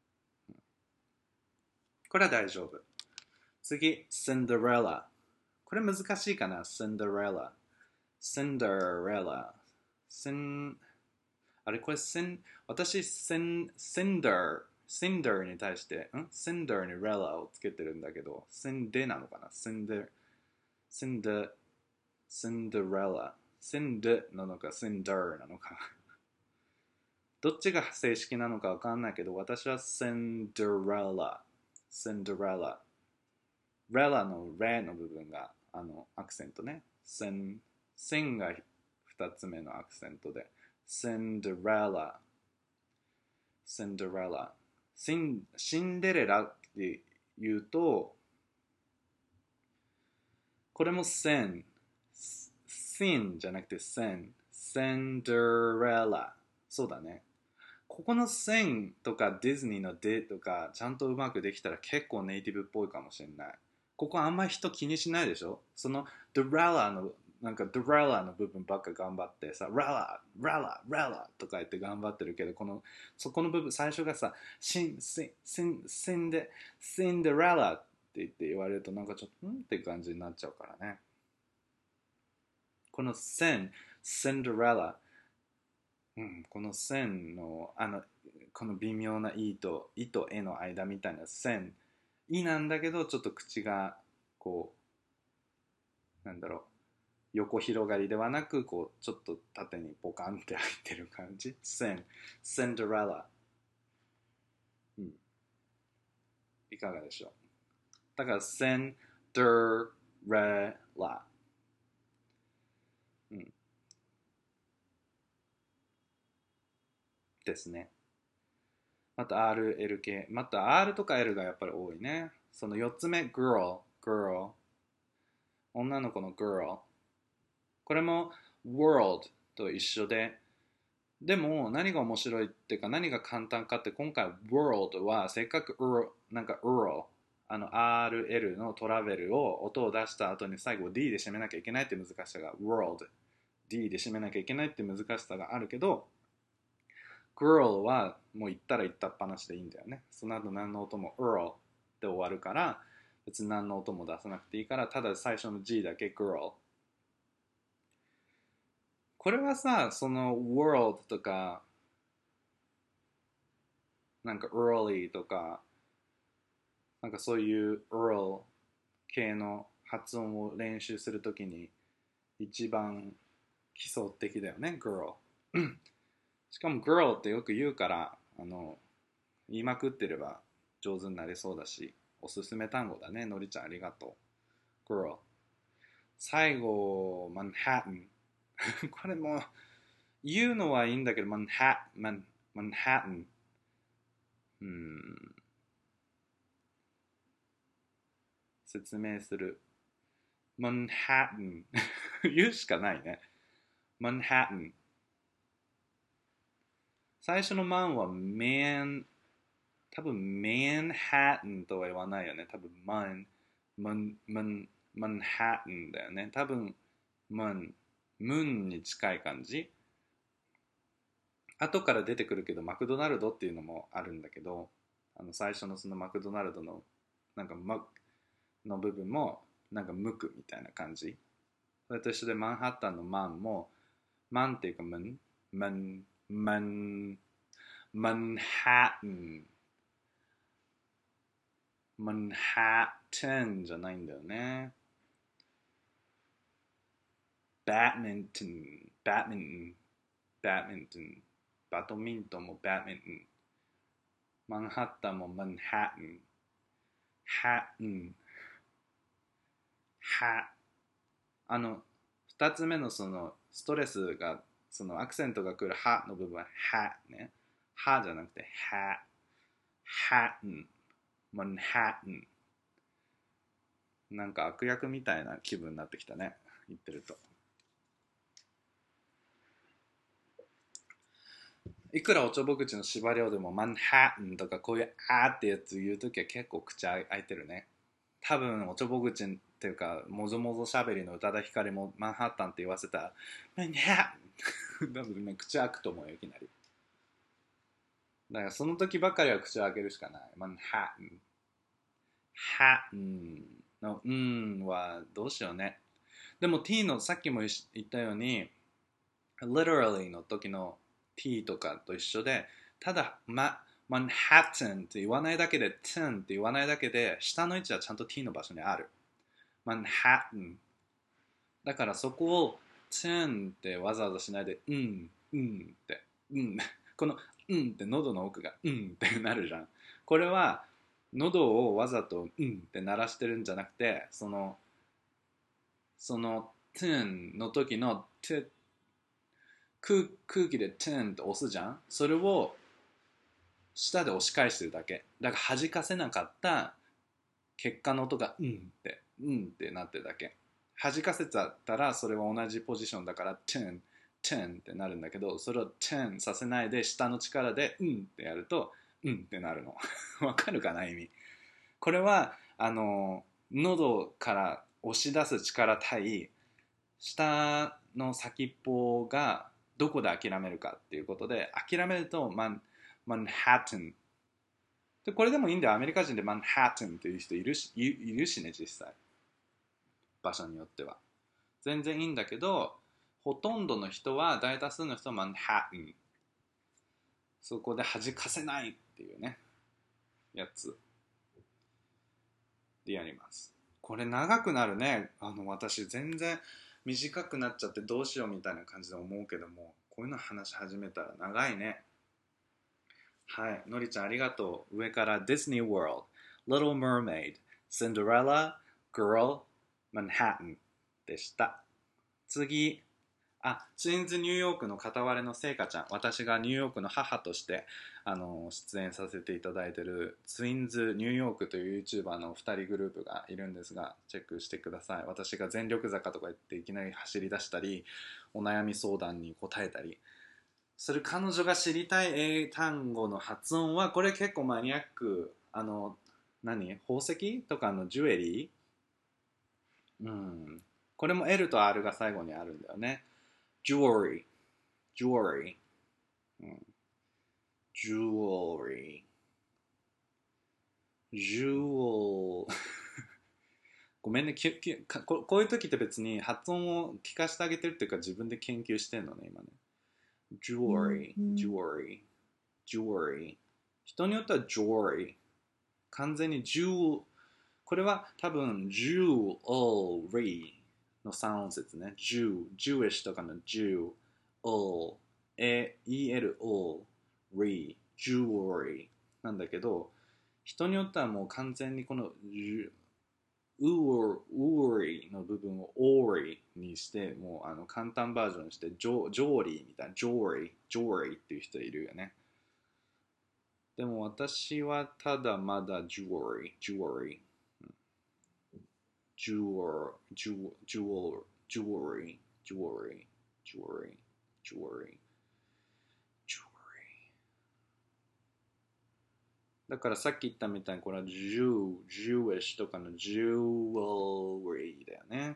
これは大丈夫。次、Cinderella。これ難しいかな ?Cinderella。Cinderella。Cin... あれこれ、Cin... 私、Cin... Cinder。Cinder に対して、ん Cinder に Rella をつけてるんだけど、Cindy なのかな ?Cinder... Cinder... Cinderella。Cind なのか Cinder なのかどっちが正式なのかわかんないけど、私は Cinderella。Cinderella。Rella の Re の部分があのアクセントね。Sin、Sin が二つ目のアクセントで。Cinderella。Cinderella。シン、シンデレラって言うと、これも Sin。Sin じゃなくて Sin。Cinderella。そうだね。ここの Sin とかディズニーの D とかちゃんとうまくできたら結構ネイティブっぽいかもしれない。ここあんまり人気にしないでしょその Dorella のなんか Dorella の部分ばっか頑張ってさ Rella, Rella, Rella とか言って頑張ってるけどこのそこの部分最初がさシンシンシンシンデシンデレラって言って言われるとなんかちょっとんって感じになっちゃうからね。この Sin Cinderella、うん、この線のあのこの微妙な「い」と「い」と「え」の間みたいな線「い」なんだけどちょっと口がこうなんだろう横広がりではなくこうちょっと縦にポカンって開いてる感じ線シンデレラ、うん、いかがでしょう。だからシンデレラ、うん、ですね。また アール、エル 系。また R とか L がやっぱり多いね。そのよっつめ、girl、girl。女の子の girl。これも world と一緒で、でも何が面白いっていうか何が簡単かって今回 world はせっかく ur なんか ur あの アールエル のトラベルを音を出した後に最後 D で締めなきゃいけないって難しさが world D で締めなきゃいけないって難しさがあるけどgirl はもう言ったら言ったっぱなしでいいんだよね。その後何の音も earl で終わるから別に何の音も出さなくていいからただ最初の G だけ girl。 これはさその world とかなんか early とかなんかそういう earl 系の発音を練習するときに一番基礎的だよね girl しかも girl ってよく言うからあの言いまくってれば上手になりそうだしおすすめ単語だねのりちゃんありがとう girl。 最後マンハッタンこれも言うのはいいんだけどマンハッマンマンハッタンうん説明するマンハッタン言うしかないねマンハッタン最初のマンはメン多分メンハッタンとは言わないよね多分マンマンマンマンハッタンだよね多分マンムンに近い感じ後から出てくるけどマクドナルドっていうのもあるんだけどあの最初のそのマクドナルドのなんかマの部分もなんか無垢みたいな感じそれと一緒でマンハッタンのマンもマンっていうかマンマンマンマンハッタンマンハッタンじゃないんだよねバドミントンバドミントンバドミントンバドミントンもバドミントンマンハッタンもマンハッタンハッタンハあの二つ目のそのストレスがそのアクセントが来るハの部分はハねハじゃなくてハハンマンハッタンなんか悪役みたいな気分になってきたね言ってるといくらおちょぼ口の縛りをでもマンハッタンとかこういうあーってやつ言うときは結構口開いてるね多分おちょぼ口っていうかもぞもぞしゃべりの宇多田ヒカルもマンハッタンって言わせたらマンハッタン多分ね口開くと思うよいきなりだからその時ばかりは口を開けるしかない。マンハッタン。ハッタンのうんはどうしようね。でも t のさっきも言ったように literally の時の t とかと一緒で、ただ、ま、マンハッタンって言わないだけで t ンって言わないだけで下の位置はちゃんと t の場所にある。マンハッタンだからそこを t ンってわざわざしないでうんうんってうんこのうんって喉の奥がうんってなるじゃん。これは喉をわざとうんって鳴らしてるんじゃなくて、そのその t ンの時の t 空空気で t ンって押すじゃん。それを舌で押し返してるだけだから弾かせなかった結果の音がうんってうんってなってるだけ。弾かせちゃったらそれは同じポジションだから t ン t ンってなるんだけど、それを t ンさせないで下の力でうんってやるとうんってなるのわかるかな意味。これはあの喉から押し出す力対下の先っぽがどこで諦めるかっていうことで、諦めるとマンマンハッタンで、これでもいいんだよ。アメリカ人でマンハッタンっていう人いるし、いいるしね、実際。場所によっては。全然いいんだけど、ほとんどの人は、大多数の人はマンハッタン。そこで弾かせないっていうね、やつでやります。これ長くなるね。あの、私全然短くなっちゃってどうしようみたいな感じで思うけども、こういうの話し始めたら長いね。はい、のりちゃんありがとう。上から Disney World、Little Mermaid、Cinderella、Girl、Manhattan でした。次、あ、ツインズニューヨークの片割れのせいかちゃん。私がニューヨークの母としてあの出演させていただいているツインズニューヨークという YouTuber のふたりグループがいるんですが、チェックしてください。私が全力坂とか言っていきなり走り出したり、お悩み相談に答えたり、それ彼女が知りたい英単語の発音はこれ結構マニアック。あの何宝石とかのジュエリー、うん、これも L と R が最後にあるんだよね。jewelry jewelry、うん、jewelry jewel ごめんねききここういう時って別に発音を聞かせてあげてるっていうか自分で研究してんのね今ね。jewelry jewelry jewelry 人によっては jewelry 完全に10、これは多分 jewelry のさん音節ね。Jew、Jewish とかの Jew、all、E-L-O、ry、jewelry なんだけど、人によってはもう完全にこの ury の部分を ory にして、もうあの簡単バージョンにして、ジョーリーみたいな、ジョーリー、ジョーリーっていう人いるよね。でも私はただまだ jewelry、jewelry、jewel、jewel、jewel、jewelry、jewelry、jewelry、jewelry、jewelry。だからさっき言ったみたいにこれは Jew、Jewish とかの jewelry だよね。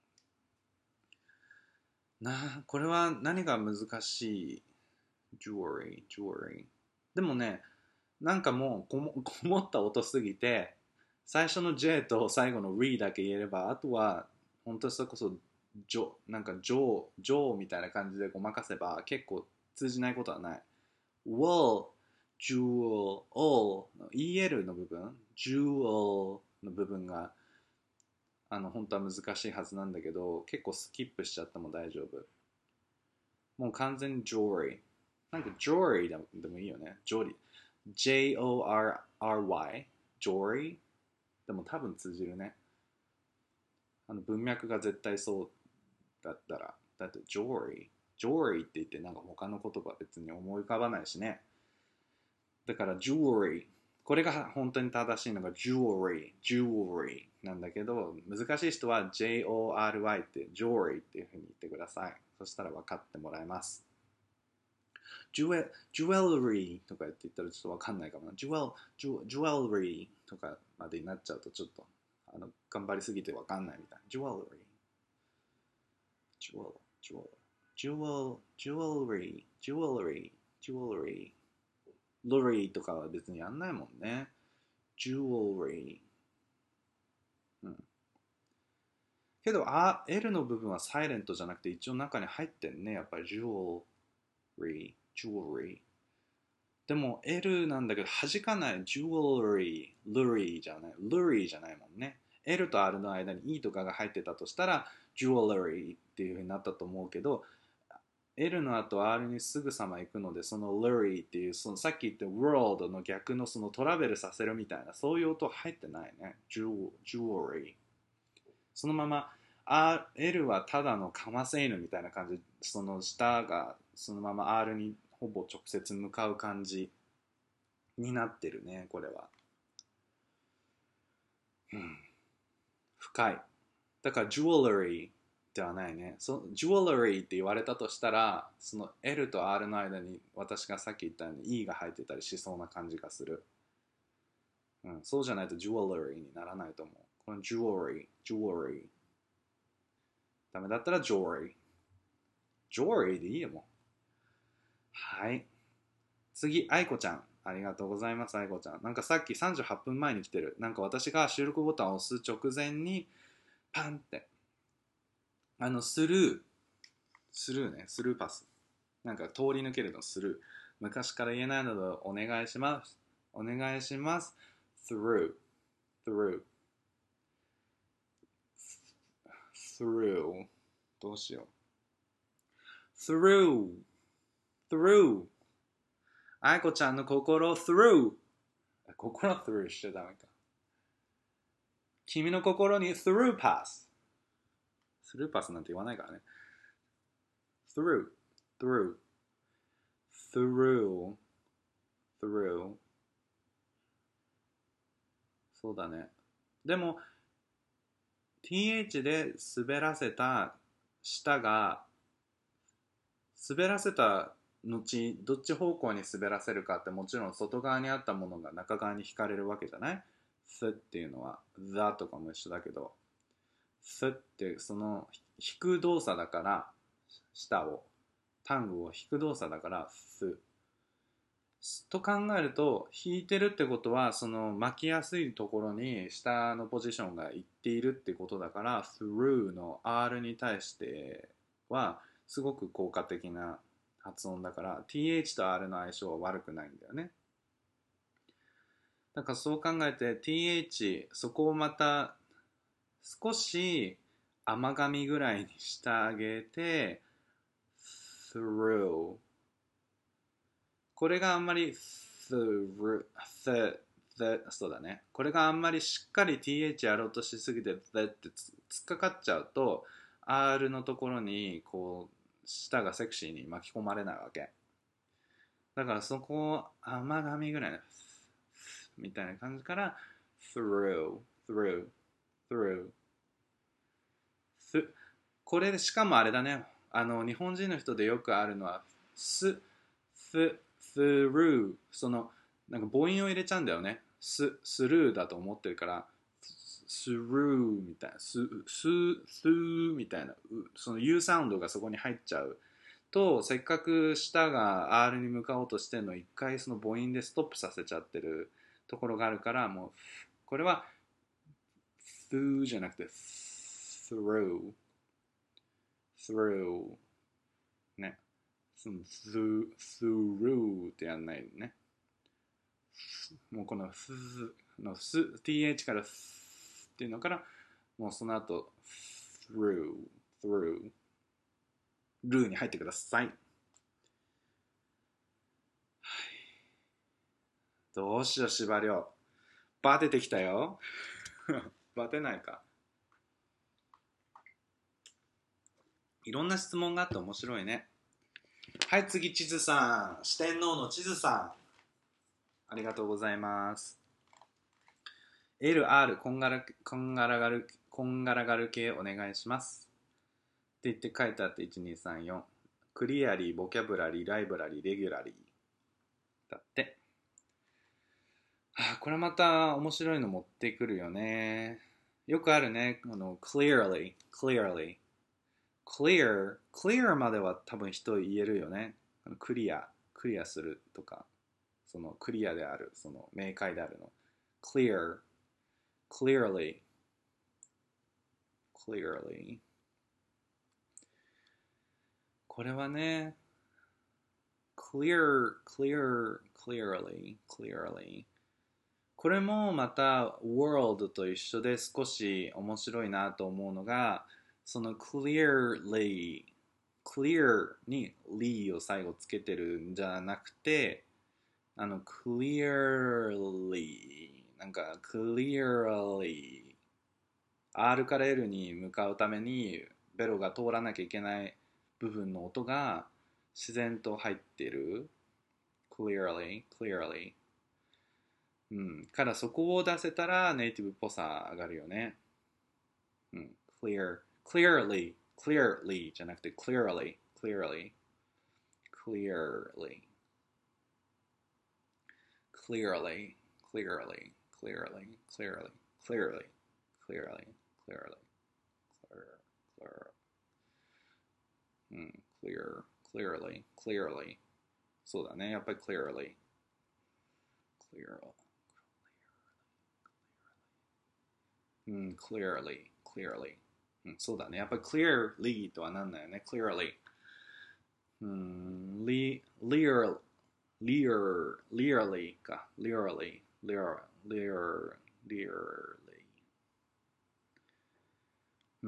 な、これは何が難しい jewelry、jewelry。でもね、なんかもうこもこもった音すぎて、最初の J と最後の R だけ言えれば、あとは本当にそれこそジョなんかジョージョーみたいな感じでごまかせば結構通じないことはない。Wall、Jewel、All の イーエル の部分、Jewel の部分があの本当は難しいはずなんだけど、結構スキップしちゃっても大丈夫。もう完全に Jewelry。なんか Jewelry でもでもいいよね。ジョリー。ジェイオーアールアールワイ Jory でも多分通じるね。あの文脈が絶対そうだったら。だって Jory Jory って言ってなんか他の言葉別に思い浮かばないしね。だから Jewelry これが本当に正しいのが Jewelry Jewelry なんだけど、難しい人は ジェイオーアールワイ って Jory っていうふうに言ってください。そしたら分かってもらえます。ジュエ、ジュエルリーとかって言ったらちょっとわかんないかもな。ジュエル、ジュ、ジュエルリーとかまでになっちゃうとちょっとあの頑張りすぎてわかんないみたいな。ジュエルリー。ジュエル、ジュエル、ジュエル、ジュエルリー、ジュエルリー、ジュエルリー。 jewelry とかは別にやんないもんね。jewelry。うん。けど、あ、L の部分はサイレントじゃなくて一応中に入ってんね。やっぱり jewelry、jewelry。でも L なんだけど弾かない jewelry、lury じゃない、lury じゃないもんね。L と R の間に E とかが入ってたとしたら jewelry っていう風になったと思うけど、L の後 R にすぐさま行くので、その lury っていう、そのさっき言った world の逆のそのトラベルさせるみたいな、そういう音入ってないね。jewelry。そのまま R、L はただのかませ犬みたいな感じ、その下がそのまま R にほぼ直接向かう感じになってるね、これは。うん、深い。だから jewelry ではないね。そ jewelry って言われたとしたら、その L と R の間に私がさっき言ったように E が入ってたりしそうな感じがする。うん、そうじゃないと jewelry にならないと思う。この jewelry、jewelry。ダメだったら jewelry。jewelry でいいよもう。はい。次、愛子ちゃん。ありがとうございます、愛子ちゃん。なんかさっきさんじゅうはっぷんまえに来てる。なんか私が収録ボタンを押す直前に、パンって、あの、スルー、スルーね、スルーパス。なんか通り抜けるのスルー。昔から言えないのでお願いします。お願いします。through, through, through. どうしよう。through, through. 愛子ちゃんの心 through。心 through しちゃダメか。君の心に through pass。through pass なんて言わないからね。through, through, through, through。そうだね。でも、ティーエイチ で滑らせた舌が、滑らせた後、どっち方向に滑らせるかってもちろん外側にあったものが中側に引かれるわけじゃない？ s っていうのは the とかも一緒だけど s ってその引く動作だから舌をタングを引く動作だから s と考えると引いてるってことはその巻きやすいところに下のポジションがいっているってことだから through の R に対してはすごく効果的な発音だから ティーエイチ と R の相性は悪くないんだよね。だからそう考えて ティーエイチ そこをまた少し甘噛みぐらいにしてあげて through これがあんまり through th, th そうだねこれがあんまりしっかり ティーエイチ やろうとしすぎて th ってつっかかっちゃうと R のところにこう舌がセクシーに巻き込まれないわけだからそこを甘噛みぐらいのみたいな感じから through through through これでしかもあれだねあの日本人の人でよくあるのはす th through そのなんか母音を入れちゃうんだよねすスルーだと思ってるからスルーみたいなスススーみたいなその U サウンドがそこに入っちゃうとせっかく舌が R に向かおうとしてるのを一回その母音でストップさせちゃってるところがあるからもうこれは through じゃなくて through through ねその through, through ってやんないねもうこの th の th から th っていうのからもうその後 through through ルーに入ってください、はい、どうしよう司馬遼バテてきたよバテないかいろんな質問があって面白いねはい次地図さん四天王の地図さんありがとうございます エルアール こんがらこんがらがるこんがらがる系お願いしますって言って書いてあっていちにさんよんクリアリーボキャブラリーライブラリーレギュラリーだってはあ、これまた面白いの持ってくるよねよくあるねあの clearly clearly clear clear までは多分人言えるよねクリアクリアするとかそのクリアである、その明快であるの。clear, clearly, clearly。これはね、clear, clear, clearly, clearly。これもまた world と一緒で少し面白いなと思うのが、その clearly clear に ly を最後つけてるんじゃなくて、あの clearly なんか clearly R から L に向かうためにベロが通らなきゃいけない部分の音が自然と入ってる clearly clearly うん、からそこを出せたらネイティブっぽさ上がるよね。うん、clear, clearly, clearly じゃなくて clearly, clearly, clearly, clearly, clearly, clearly, clearly, clearly, clearly, clearly, clear, clear, うん、clear, clearly, clearly そうだね、やっぱり clearly, clear, うん、clearly, clearly うん、そうだね。やっぱり clearly とはなんないよね。clearly。うん、li, lear, lear, learly か。learly, lear, lear, learly。うん。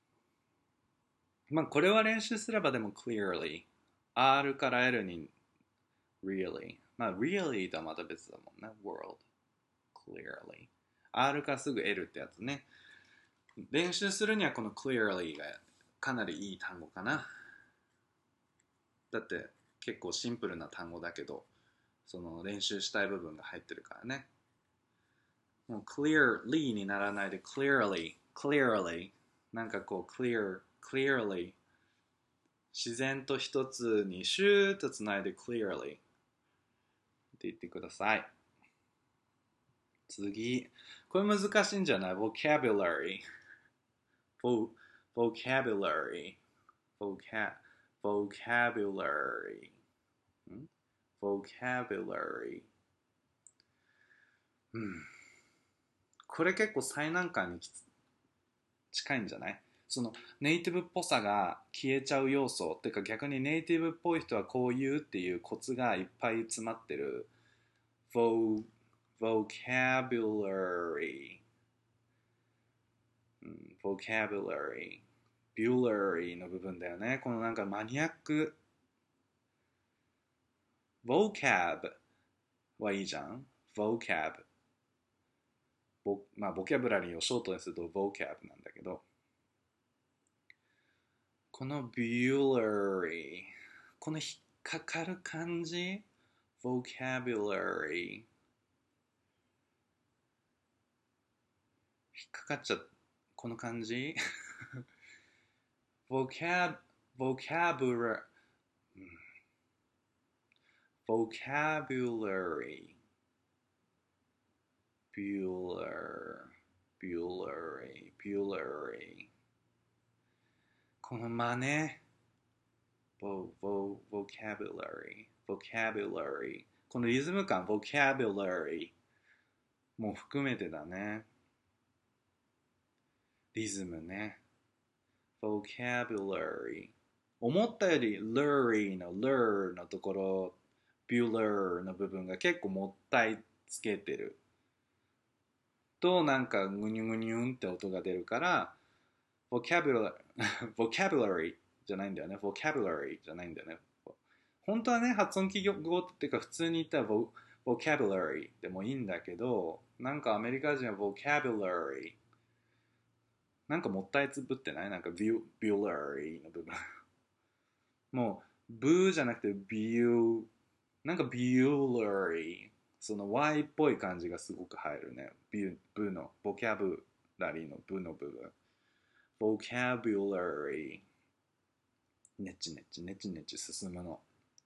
まあ、これは練習すればでも clearly。R から L に really。まあ、really とはまた別だもんね。world。clearly。R からすぐ L ってやつね。練習するにはこの clearly がかなりいい単語かな。だって結構シンプルな単語だけど、その練習したい部分が入ってるからね。もう clearly にならないで clearly, clearly なんかこう clear, clearly 自然と一つにシューッとつないで clearly って言ってください。次。これ難しいんじゃない？ vocabulary vocabulary vocab vocabulary vocabulary うんこれ結構最難関に近いんじゃない？そのネイティブっぽさが消えちゃう要素っていうか逆にネイティブっぽい人はこう言うっていうコツがいっぱい詰まってる Vo vocabulary、うん、vocabulary bulary の部分だよね。このなんかマニアック vocab はいいじゃん vocab ボまあボキャブラリーをショートにすると vocab なんだけどこの bulary この引っかかる感じ vocabulary 引っかかっちゃこの感じvocab vocabulary vocabulary bular bulary bulary この真似 vo, vo, vocabulary vocabulary このリズム感 vocabulary も含めてだねリズムね vocabulary 思ったより lurry の lure のところ bular の部分が結構もったいつけてるとなんかグニュグニュンって音が出るから vocabulary vocabulary じゃないんだよね vocabulary じゃないんだよね本当はね発音記号っていうか普通に言ったら vocabulary でもいいんだけどなんかアメリカ人は vocabulary なんかもったいつぶってないなんか bulary の部分もうブーじゃなくて bu なんか bulary その Y っぽい感じがすごく入るねブのボキャブラリーのブの部分 vocabulary ネチネチネチネチ進むの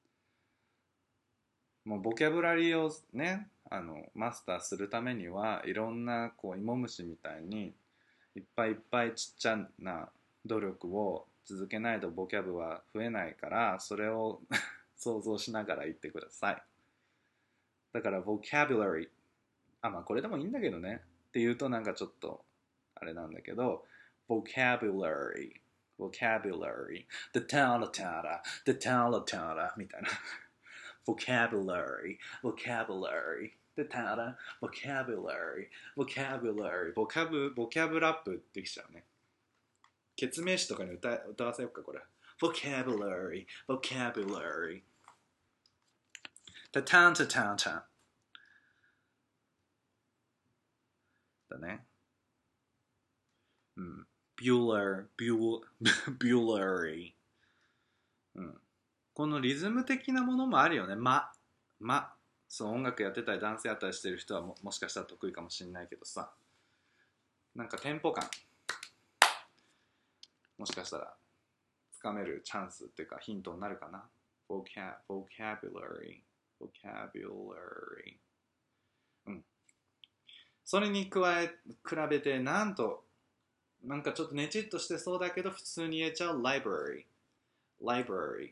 もうボキャブラリーをねあのマスターするためにはいろんなこう芋虫みたいにいっぱいいっぱいちっちゃな努力を続けないとボキャブは増えないからそれを想像しながら言ってくださいだから vocabulary、あ、まあこれでもいいんだけどねって言うとなんかちょっとあれなんだけど、vocabulary vocabulary the tala tala the tala tala みたいなvocabulary vocabulary the tala vocabulary vocabulary ボキャブボキャブラップできちゃうね。決名詞とかに 歌, 歌わせようかこれ。vocabulary vocabulary タタンタタンタンだね。うん。bular bul bulary、うん、このリズム的なものもあるよね。ままそう、音楽やってたりダンスやったりしてる人は も, もしかしたら得意かもしれないけどさ、なんかテンポ感もしかしたらつかめるチャンスっていうかヒントになるかな。 Vocab vocabulary vocabulary、うん、それに加え比べてなんとなんかちょっとねちっとしてそうだけど普通に言えちゃう library library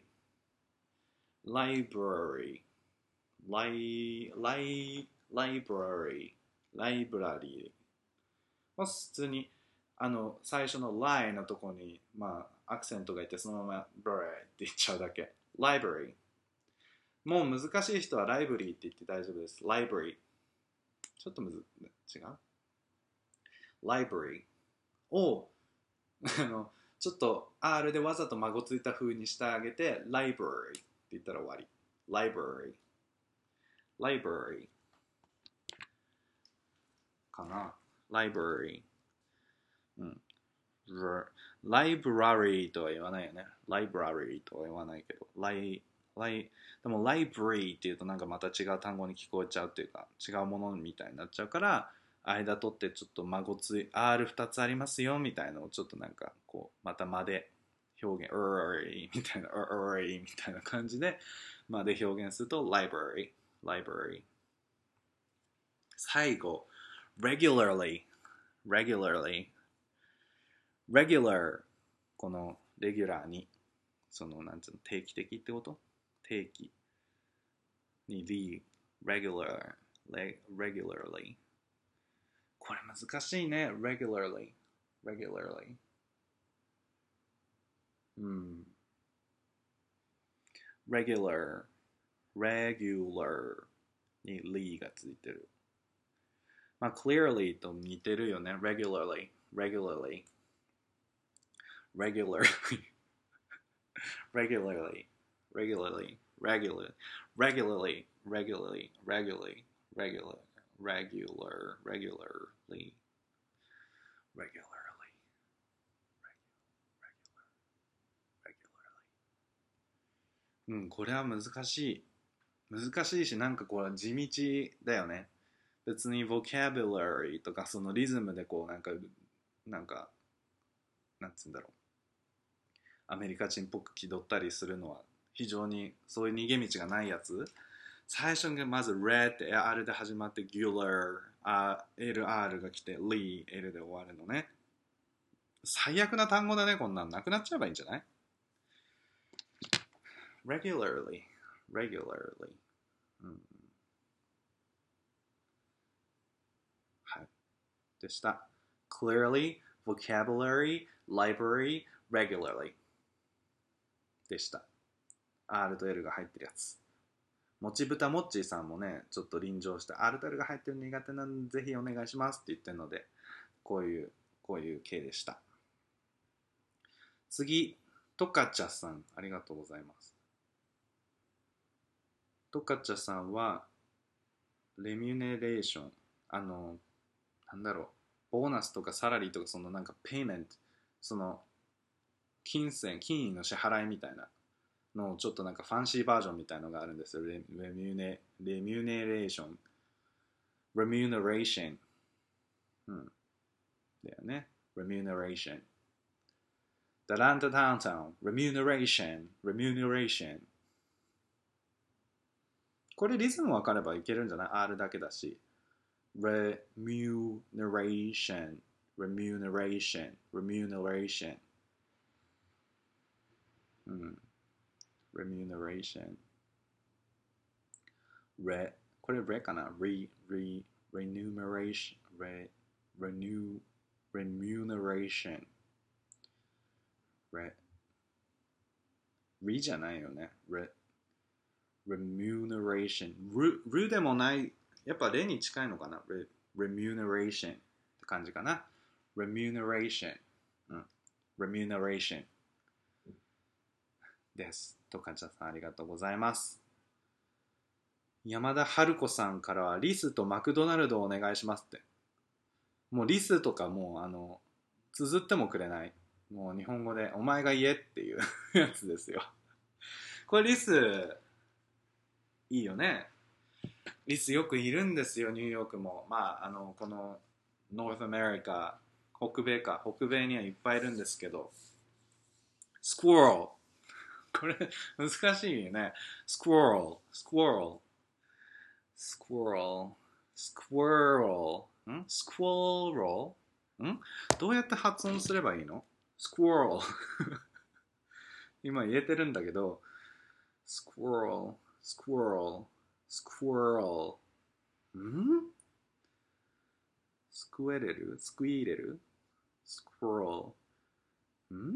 library li li library library まあ普通にあの最初の lie のとこにまあアクセントがいてそのまま brary って言っちゃうだけ。 library、 もう難しい人は library って言って大丈夫です。 library ちょっとむず違う libraryをあのちょっと R でわざと孫ついた風にしてあげて library って言ったら終わり。 library library かな。 library、うん、library とは言わないよね。 library とは言わないけど li, li でも library っていうとなんかまた違う単語に聞こえちゃうっていうか違うものみたいになっちゃうから間取ってちょっと孫つい アールふた つありますよみたいなのをちょっとなんかこうまた間で表現 er みたいな er みたいな感じで間で表現すると library library。 最後 regularly regularly regular このレギュラーにそのなんつうの定期的ってこと定期に the regular regularly、これ難しいね。 regularly regularly、 うん regular regular に ly がついてる。まあ clearly と似てるよね。 regularly regularly regularly regularly regularly regularly regularly regularly regularly regular regular regularly regularly regularly。 うん、これは難しい難しいしなんかこれ地道だよね。別に vocabulary とかそのリズムでこうなんかなんかなんつうんだろうアメリカ人っぽく気取ったりするのは非常にそういう逃げ道がないやつ。最初にまず red って R で始まって gularエルアール が来て ly L で終わるのね。最悪な単語だね。こんなんなくなっちゃえばいいんじゃない？ regularly regularly、うん、はいでした。 clearly vocabulary library regularlyでした。 R と L が入ってるやつ。もちぶたもっちーさんもねちょっと臨場して R と L が入ってる苦手なんでぜひお願いしますって言ってるのでこういうこういう系でした。次トカチャさんありがとうございます。トカチャさんはレミュネレーションあのなんだろうボーナスとかサラリーとかそのなんかペイメントその金銭金利の支払いみたいなのちょっとなんかファンシーバージョンみたいのがあるんですよ。レミュネレミュネレーションレミュネレーション、うん、だよね。レミュネレーションダランタダウンタウンレミュネレーションレミュネレーション。これリズム分かればいけるんじゃない？ R だけだし。レミュネレーションレミュネレーションレミュネレーション、うん、remuneration re これ re かな re, re, remuneration, re, renew, remuneration, re, re じゃないよね。re, remuneration, ru, ru でもない、やっぱ re に近いのかな re, remuneration って感じかな。remuneration、うん、remuneration です。とかちゃさんありがとうございます。山田春子さんからはリスとマクドナルドをお願いしますって。もうリスとかもうあの綴ってもくれない。もう日本語でお前が言えっていうやつですよ。これリスいいよね。リスよくいるんですよ、ニューヨークも。まああのこのノースアメリカ、北米か、北米にはいっぱいいるんですけど、スクワロル、これ難しいよね。スクワロル、スクワロル、スクワロル、スクワロル、んスクワロル、んどうやって発音すればいいの？スクワロル今言えてるんだけど、スクワロル、スクワロル、スクワロル、んスクエレル、スクイーレル、スクワロル、ん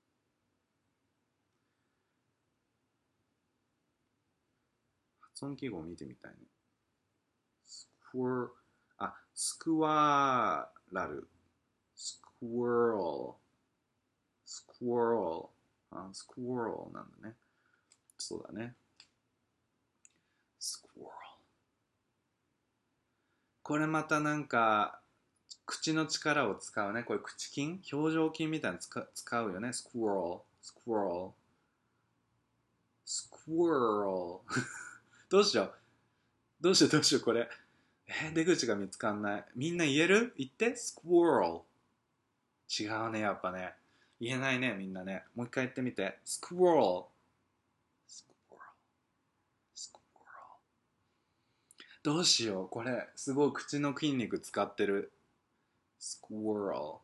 発音記号を見てみたいね。スクワ、あ、スクワラル、スクワロル、スクワロル、あ、スクワロルなんだね。そうだね。スクワロル。これまたなんか、口の力を使うね。これ口筋表情筋みたいなの使使うよね。スクワロル、スクワロル、スクワロル。どうしよう。どうしようどうしようこれ。えー出口が見つかんない。みんな言える？言って。スクワロル。違うね、やっぱね。言えないね、みんなね。もう一回言ってみて。スクワロル。スクワロル。スクワロル。どうしよう。これ、すごい口の筋肉使ってる。スクワロ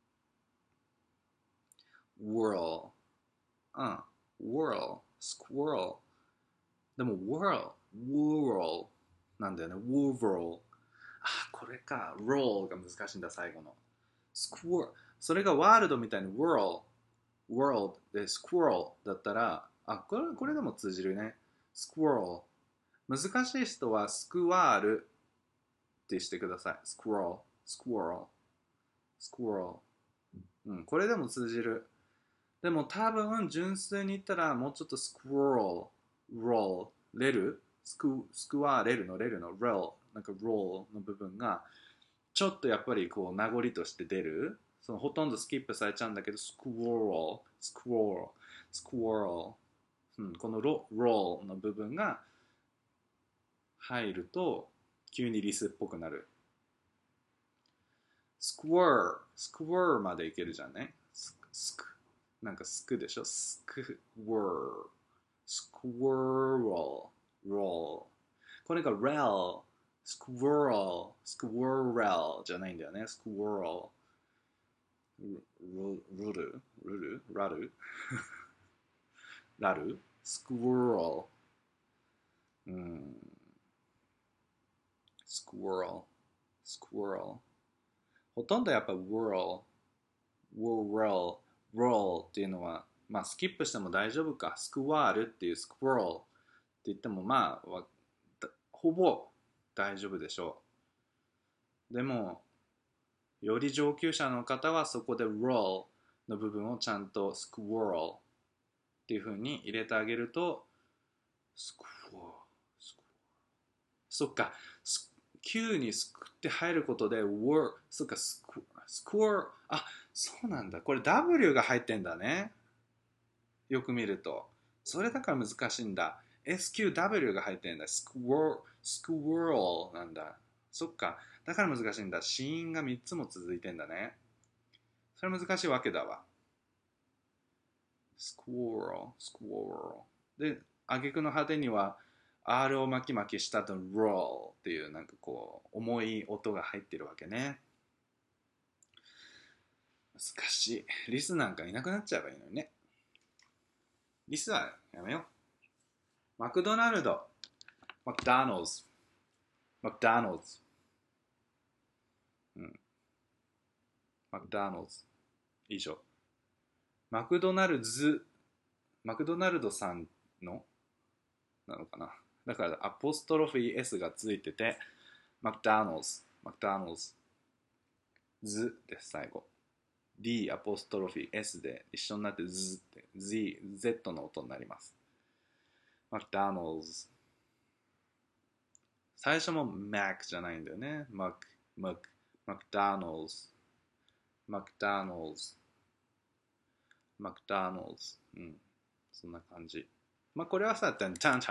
ル。whirl。うん。whirl。スクワロル。でも whirl。whirl。なんだよね。whirl。あ、これか。roll が難しいんだ、最後の。スクワそれがワールドみたいに world world で squirrel だったら、あ、これ、これでも通じるね。squirrel。難しい人はスクワールってしてください。squirrel squirrel squirrel。うん、これでも通じる。でも多分純粋に言ったらもうちょっと squirrel roll レルスクスクワーレルのレルの roll なんか roll の部分がちょっとやっぱりこう名残として出る。そのほとんどスキップされちゃうんだけど、スクワール、スクワール、スクワール、うん、このロローの部分が入ると急にリスっぽくなる。スクワー、スクワーまでいけるじゃんね。スク、スク、なんかスクでしょ。スクワー、スクワール、ロー。これが rel、スクワール、スクワーレルじゃないんだよね。スクワール。ルルルルルラルラルスクワール、うん、スクワール、スクワール。ほとんどやっぱ whirl、whirl、roll っていうのは、まあスキップしても大丈夫か。スクワールっていうスクワールって言ってもまあ、ほぼ大丈夫でしょう。でも、より上級者の方はそこで roll の部分をちゃんと squirrel っていう風に入れてあげると、スクワー、スクワー、そっか、Q にすくって入ることで word、そっか、スクスクワー、あ、そうなんだ。これ W が入ってんだね。よく見ると。それだから難しいんだ。エスキューダブリュー が入ってんだ。スクワー、スクワールなんだ。そっか。だから難しいんだ。子音がみっつも続いてんだね。それ難しいわけだわ。スクワール、スクワール。で、挙句の果てには R を巻き巻きしたと roll っていうなんかこう重い音が入ってるわけね。難しい。リスなんかいなくなっちゃえばいいのにね。リスはやめよう。マクドナルド、マクドナルド、 マクドナルド。うん。マクドナルド。以上。マクドナルズ、マクドナルドさんのなのかな。だからアポストロフィー S がついてて、マクドナルド、マクドナルドズです最後。D アポストロフィー S で一緒になってズって Z、Z の音になります。マクドナルド。最初も Mac じゃないんだよね。マク、マク、マクドナルド。マクドナルド。マクドナルド。うん。そんな感じ。まあこれはさ、チャンチャン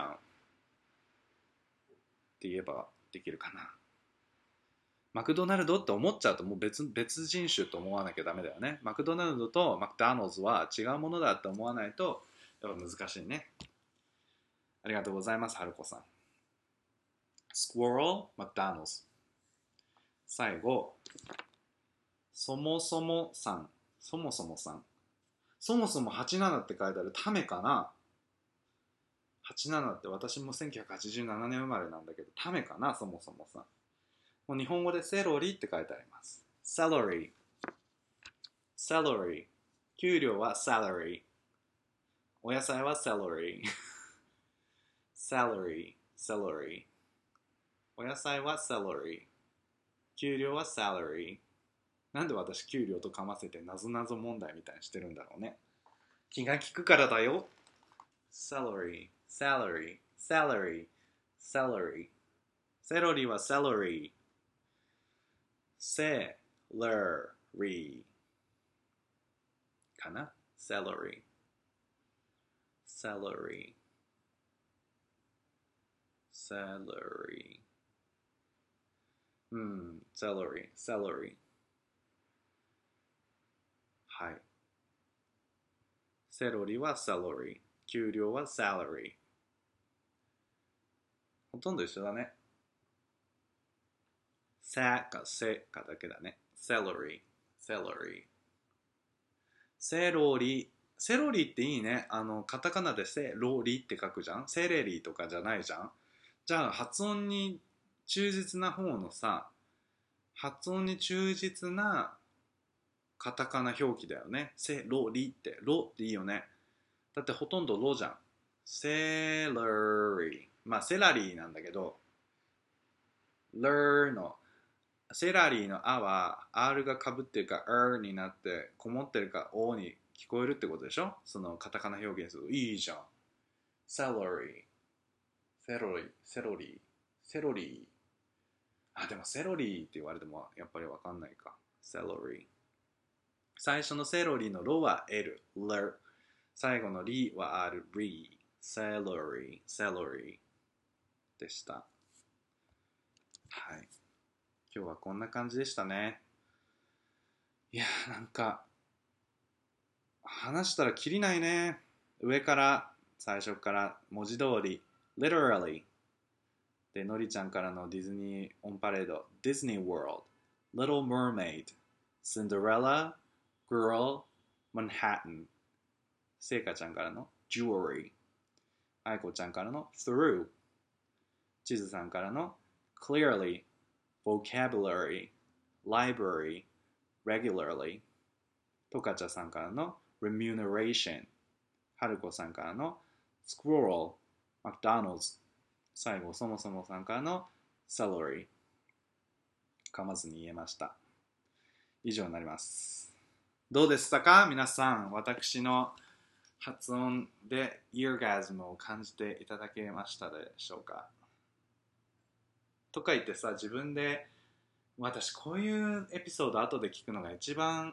って言えばできるかな。マクドナルドって思っちゃうともう 別, 別人種と思わなきゃダメだよね。マクドナルドとマクドナルドは違うものだって思わないとやっぱ難しいね。ありがとうございます、はるこさん。Squirrel, McDonald's。最後、そもそもさん。そもそもさん。そもそもはちじゅうななって書いてあるためかな。はちじゅうななって私もせんきゅうひゃくはちじゅうななねん生まれなんだけど、ためかな、そもそもさん。もう日本語でセロリって書いてあります。Salary。Salary。給料は salary。お野菜は celery。salary。celery。お野菜は celery。給料は salary。なんで私給料とかませてなぞなぞ問題みたいにしてるんだろうね。気が利くからだよ。salary。salary。salary。salary。セロリは celery。セラリーかな。セラリー。セラリー。セラリー。うん、セラリー。セラリー。はい。セロリはセラリー。給料はサラリー。ほとんど一緒だね。さかせかだけだね。セロリー。セロリー。セロリ。セロリっていいね。あの、カタカナでセロリって書くじゃん。セレリとかじゃないじゃん。じゃあ発音に忠実な方のさ、発音に忠実なカタカナ表記だよね。セロリって。ロっていいよね。だってほとんどロじゃん。セラリー。まあセラリーなんだけど、レの、セラリーのあは R がかぶってるか R になってこもってるか O に聞こえるってことでしょ。そのカタカナ表現するといいじゃん。セラリー。セロリー。セロリー。セロリー。あ、でもセロリーって言われてもやっぱりわかんないか。セロリー。最初のセロリのロは L、L。最後のリは R、リー。セロリー、セロリーでした。はい。今日はこんな感じでしたね。いやーなんか、話したらきりないね。上から、最初から文字通り、literally。で、のりちゃんからのディズニーオンパレード、Disney World、Little Mermaid、Cinderella、Girl、Manhattan。せいかちゃんからの Jewelry。あいこちゃんからの Through。ちずさんからの Clearly、Vocabulary、Library、Regularly。とかちゃさんからの Remuneration。はるこさんからの Squirrel、McDonald's。最後、そもそもさんからの Celery。噛まずに言えました。以上になります。どうでしたか皆さん。私の発音でイーガズムを感じていただけましたでしょうか。とか言ってさ、自分で私こういうエピソード後で聞くのが一番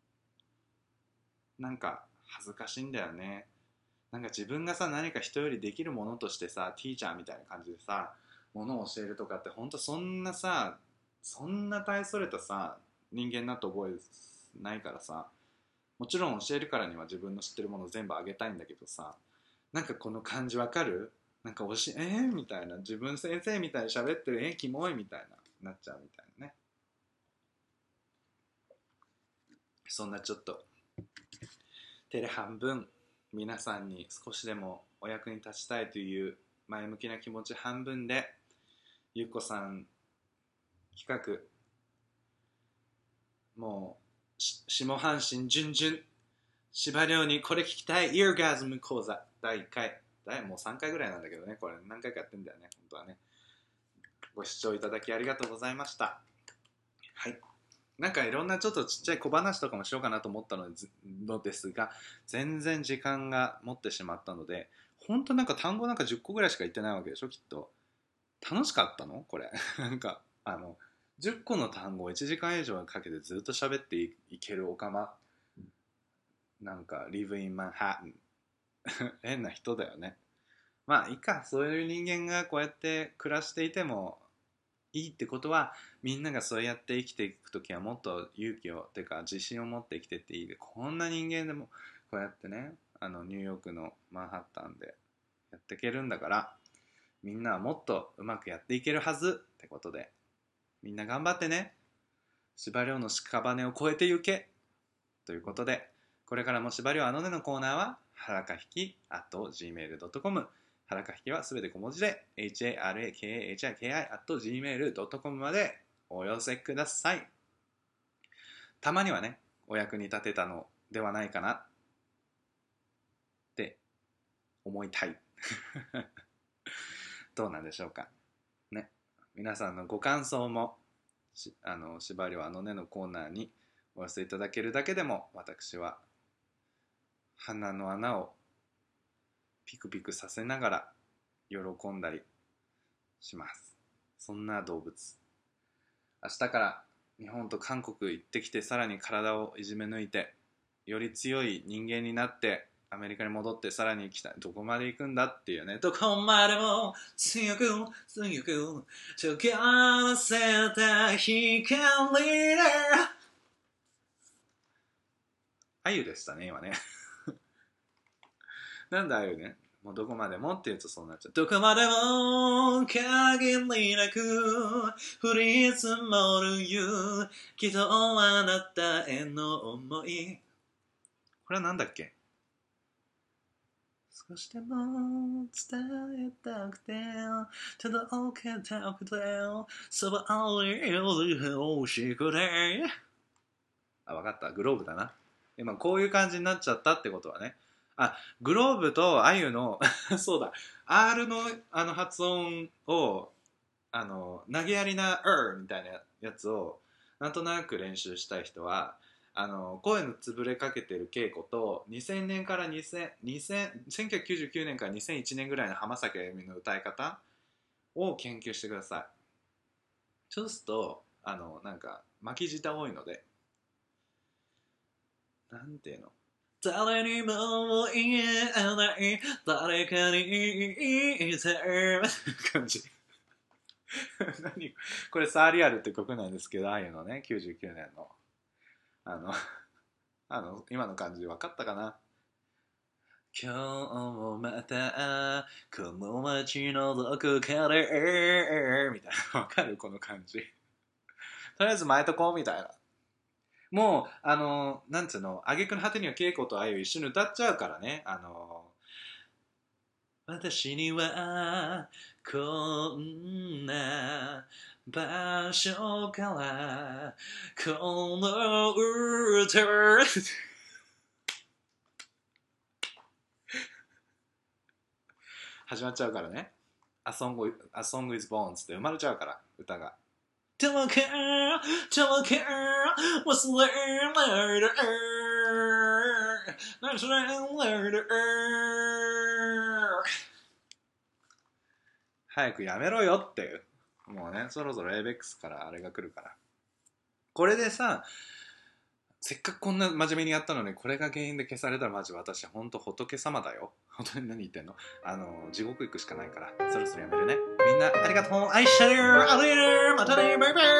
なんか恥ずかしいんだよね。なんか自分がさ、何か人よりできるものとしてさ、ティーチャーみたいな感じでさ、ものを教えるとかってほんとそんなさ、そんな大それたさ、人間だと覚えないからさ、もちろん教えるからには自分の知ってるもの全部あげたいんだけどさ、なんかこの感じわかる？なんか教え、えー、みたいな、自分先生みたいに喋ってる、えー、キモいみたいな、なっちゃうみたいなね。そんなちょっと、手で半分、皆さんに少しでもお役に立ちたいという前向きな気持ち半分でゆうこさん企画、もう下半身順々、芝涼にこれ聞きたいイヤーガズム講座だいいっかい、もうさんかいぐらいなんだけどね、これ何回かやってんだよね、本当はね。ご視聴いただきありがとうございました。はい、なんかいろんなちょっとちっちゃい小話とかもしようかなと思ったのですが、全然時間が持ってしまったので、本当なんか単語なんかじゅっこぐらいしか言ってないわけでしょ、きっと。楽しかったのこれなんかあのじゅっこの単語をいちじかん以上かけてずっと喋っていけるオカマ、なんか live in Manhattan 変な人だよね。まあいいか、そういう人間がこうやって暮らしていてもいいってことは、みんながそうやって生きていくときはもっと勇気をてか自信を持って生きてっていいで、こんな人間でもこうやってね、あのニューヨークのマンハッタンでやっていけるんだから、みんなはもっとうまくやっていけるはずってことで、みんな頑張ってね。司馬遼の屍を越えてゆけということで、これからも司馬遼あのねのコーナーははらかひき アットジーメールドットコム、 はらかひきはすべて小文字で エイチエーアールエーケーエーエイチアイケーアイ アットジーメールドットコム までお寄せください。たまにはね、お役に立てたのではないかなって思いたいどうなんでしょうかね。皆さんのご感想もしあの司馬遼あのねのコーナーにお寄せいただけるだけでも、私は鼻の穴をピクピクさせながら喜んだりします。そんな動物。明日から日本と韓国行ってきて、さらに体をいじめ抜いてより強い人間になってアメリカに戻って、さらに行きたい、どこまで行くんだっていうね、どこまでも強く強く溶け合せた光で、あゆでしたね今ねなんだあゆね、もうどこまでもって言うとそうなっちゃう。どこまでも限りなく降り積もる雪、きっとあなたへの思い、これはなんだっけ。少しでも伝えたくて届けたくてそばにいる欲しくて、あ、分かった、グローブだな。今こういう感じになっちゃったってことはね、あ、グローブとあゆのそうだ、 R のあの発音を、あの投げやりな er みたいなやつをなんとなく練習したい人は、あの声の潰れかけてる稽古とにせんねんからにせん、せんきゅうひゃくきゅうじゅうきゅうねんからにせんいちねんぐらいの浜崎あゆみの歌い方を研究してください。そうするとあのなんか巻き舌多いので、なんていうの、誰にも言えない誰かに言いたい感じ何これサーリアルって曲なんですけど、ああいうのね、きゅうじゅうきゅうねんのあのあの今の感じ分かったかな。今日もまたこの街のどこかでみたいな、分かるこの感じとりあえず前とこうみたいな。もうあのなんつうの、挙句の果てには稽古とあゆ一緒に歌っちゃうからね。あの私にはこんな場所からこの歌始まっちゃうからね。A song, A song is born って生まれちゃうから歌が。Don't care, don't care, what's there later, what's there later。 早くやめろよっていう。もうね、そろそろ エーベックス からあれが来るから。これでさ、せっかくこんな真面目にやったのにこれが原因で消されたらマジ私ほんと仏様だよ。本当に何言ってんの、あの地獄行くしかないから、そろそろやめるね。みんなありがとう、愛してる、ありがとう、またね、バイバイ。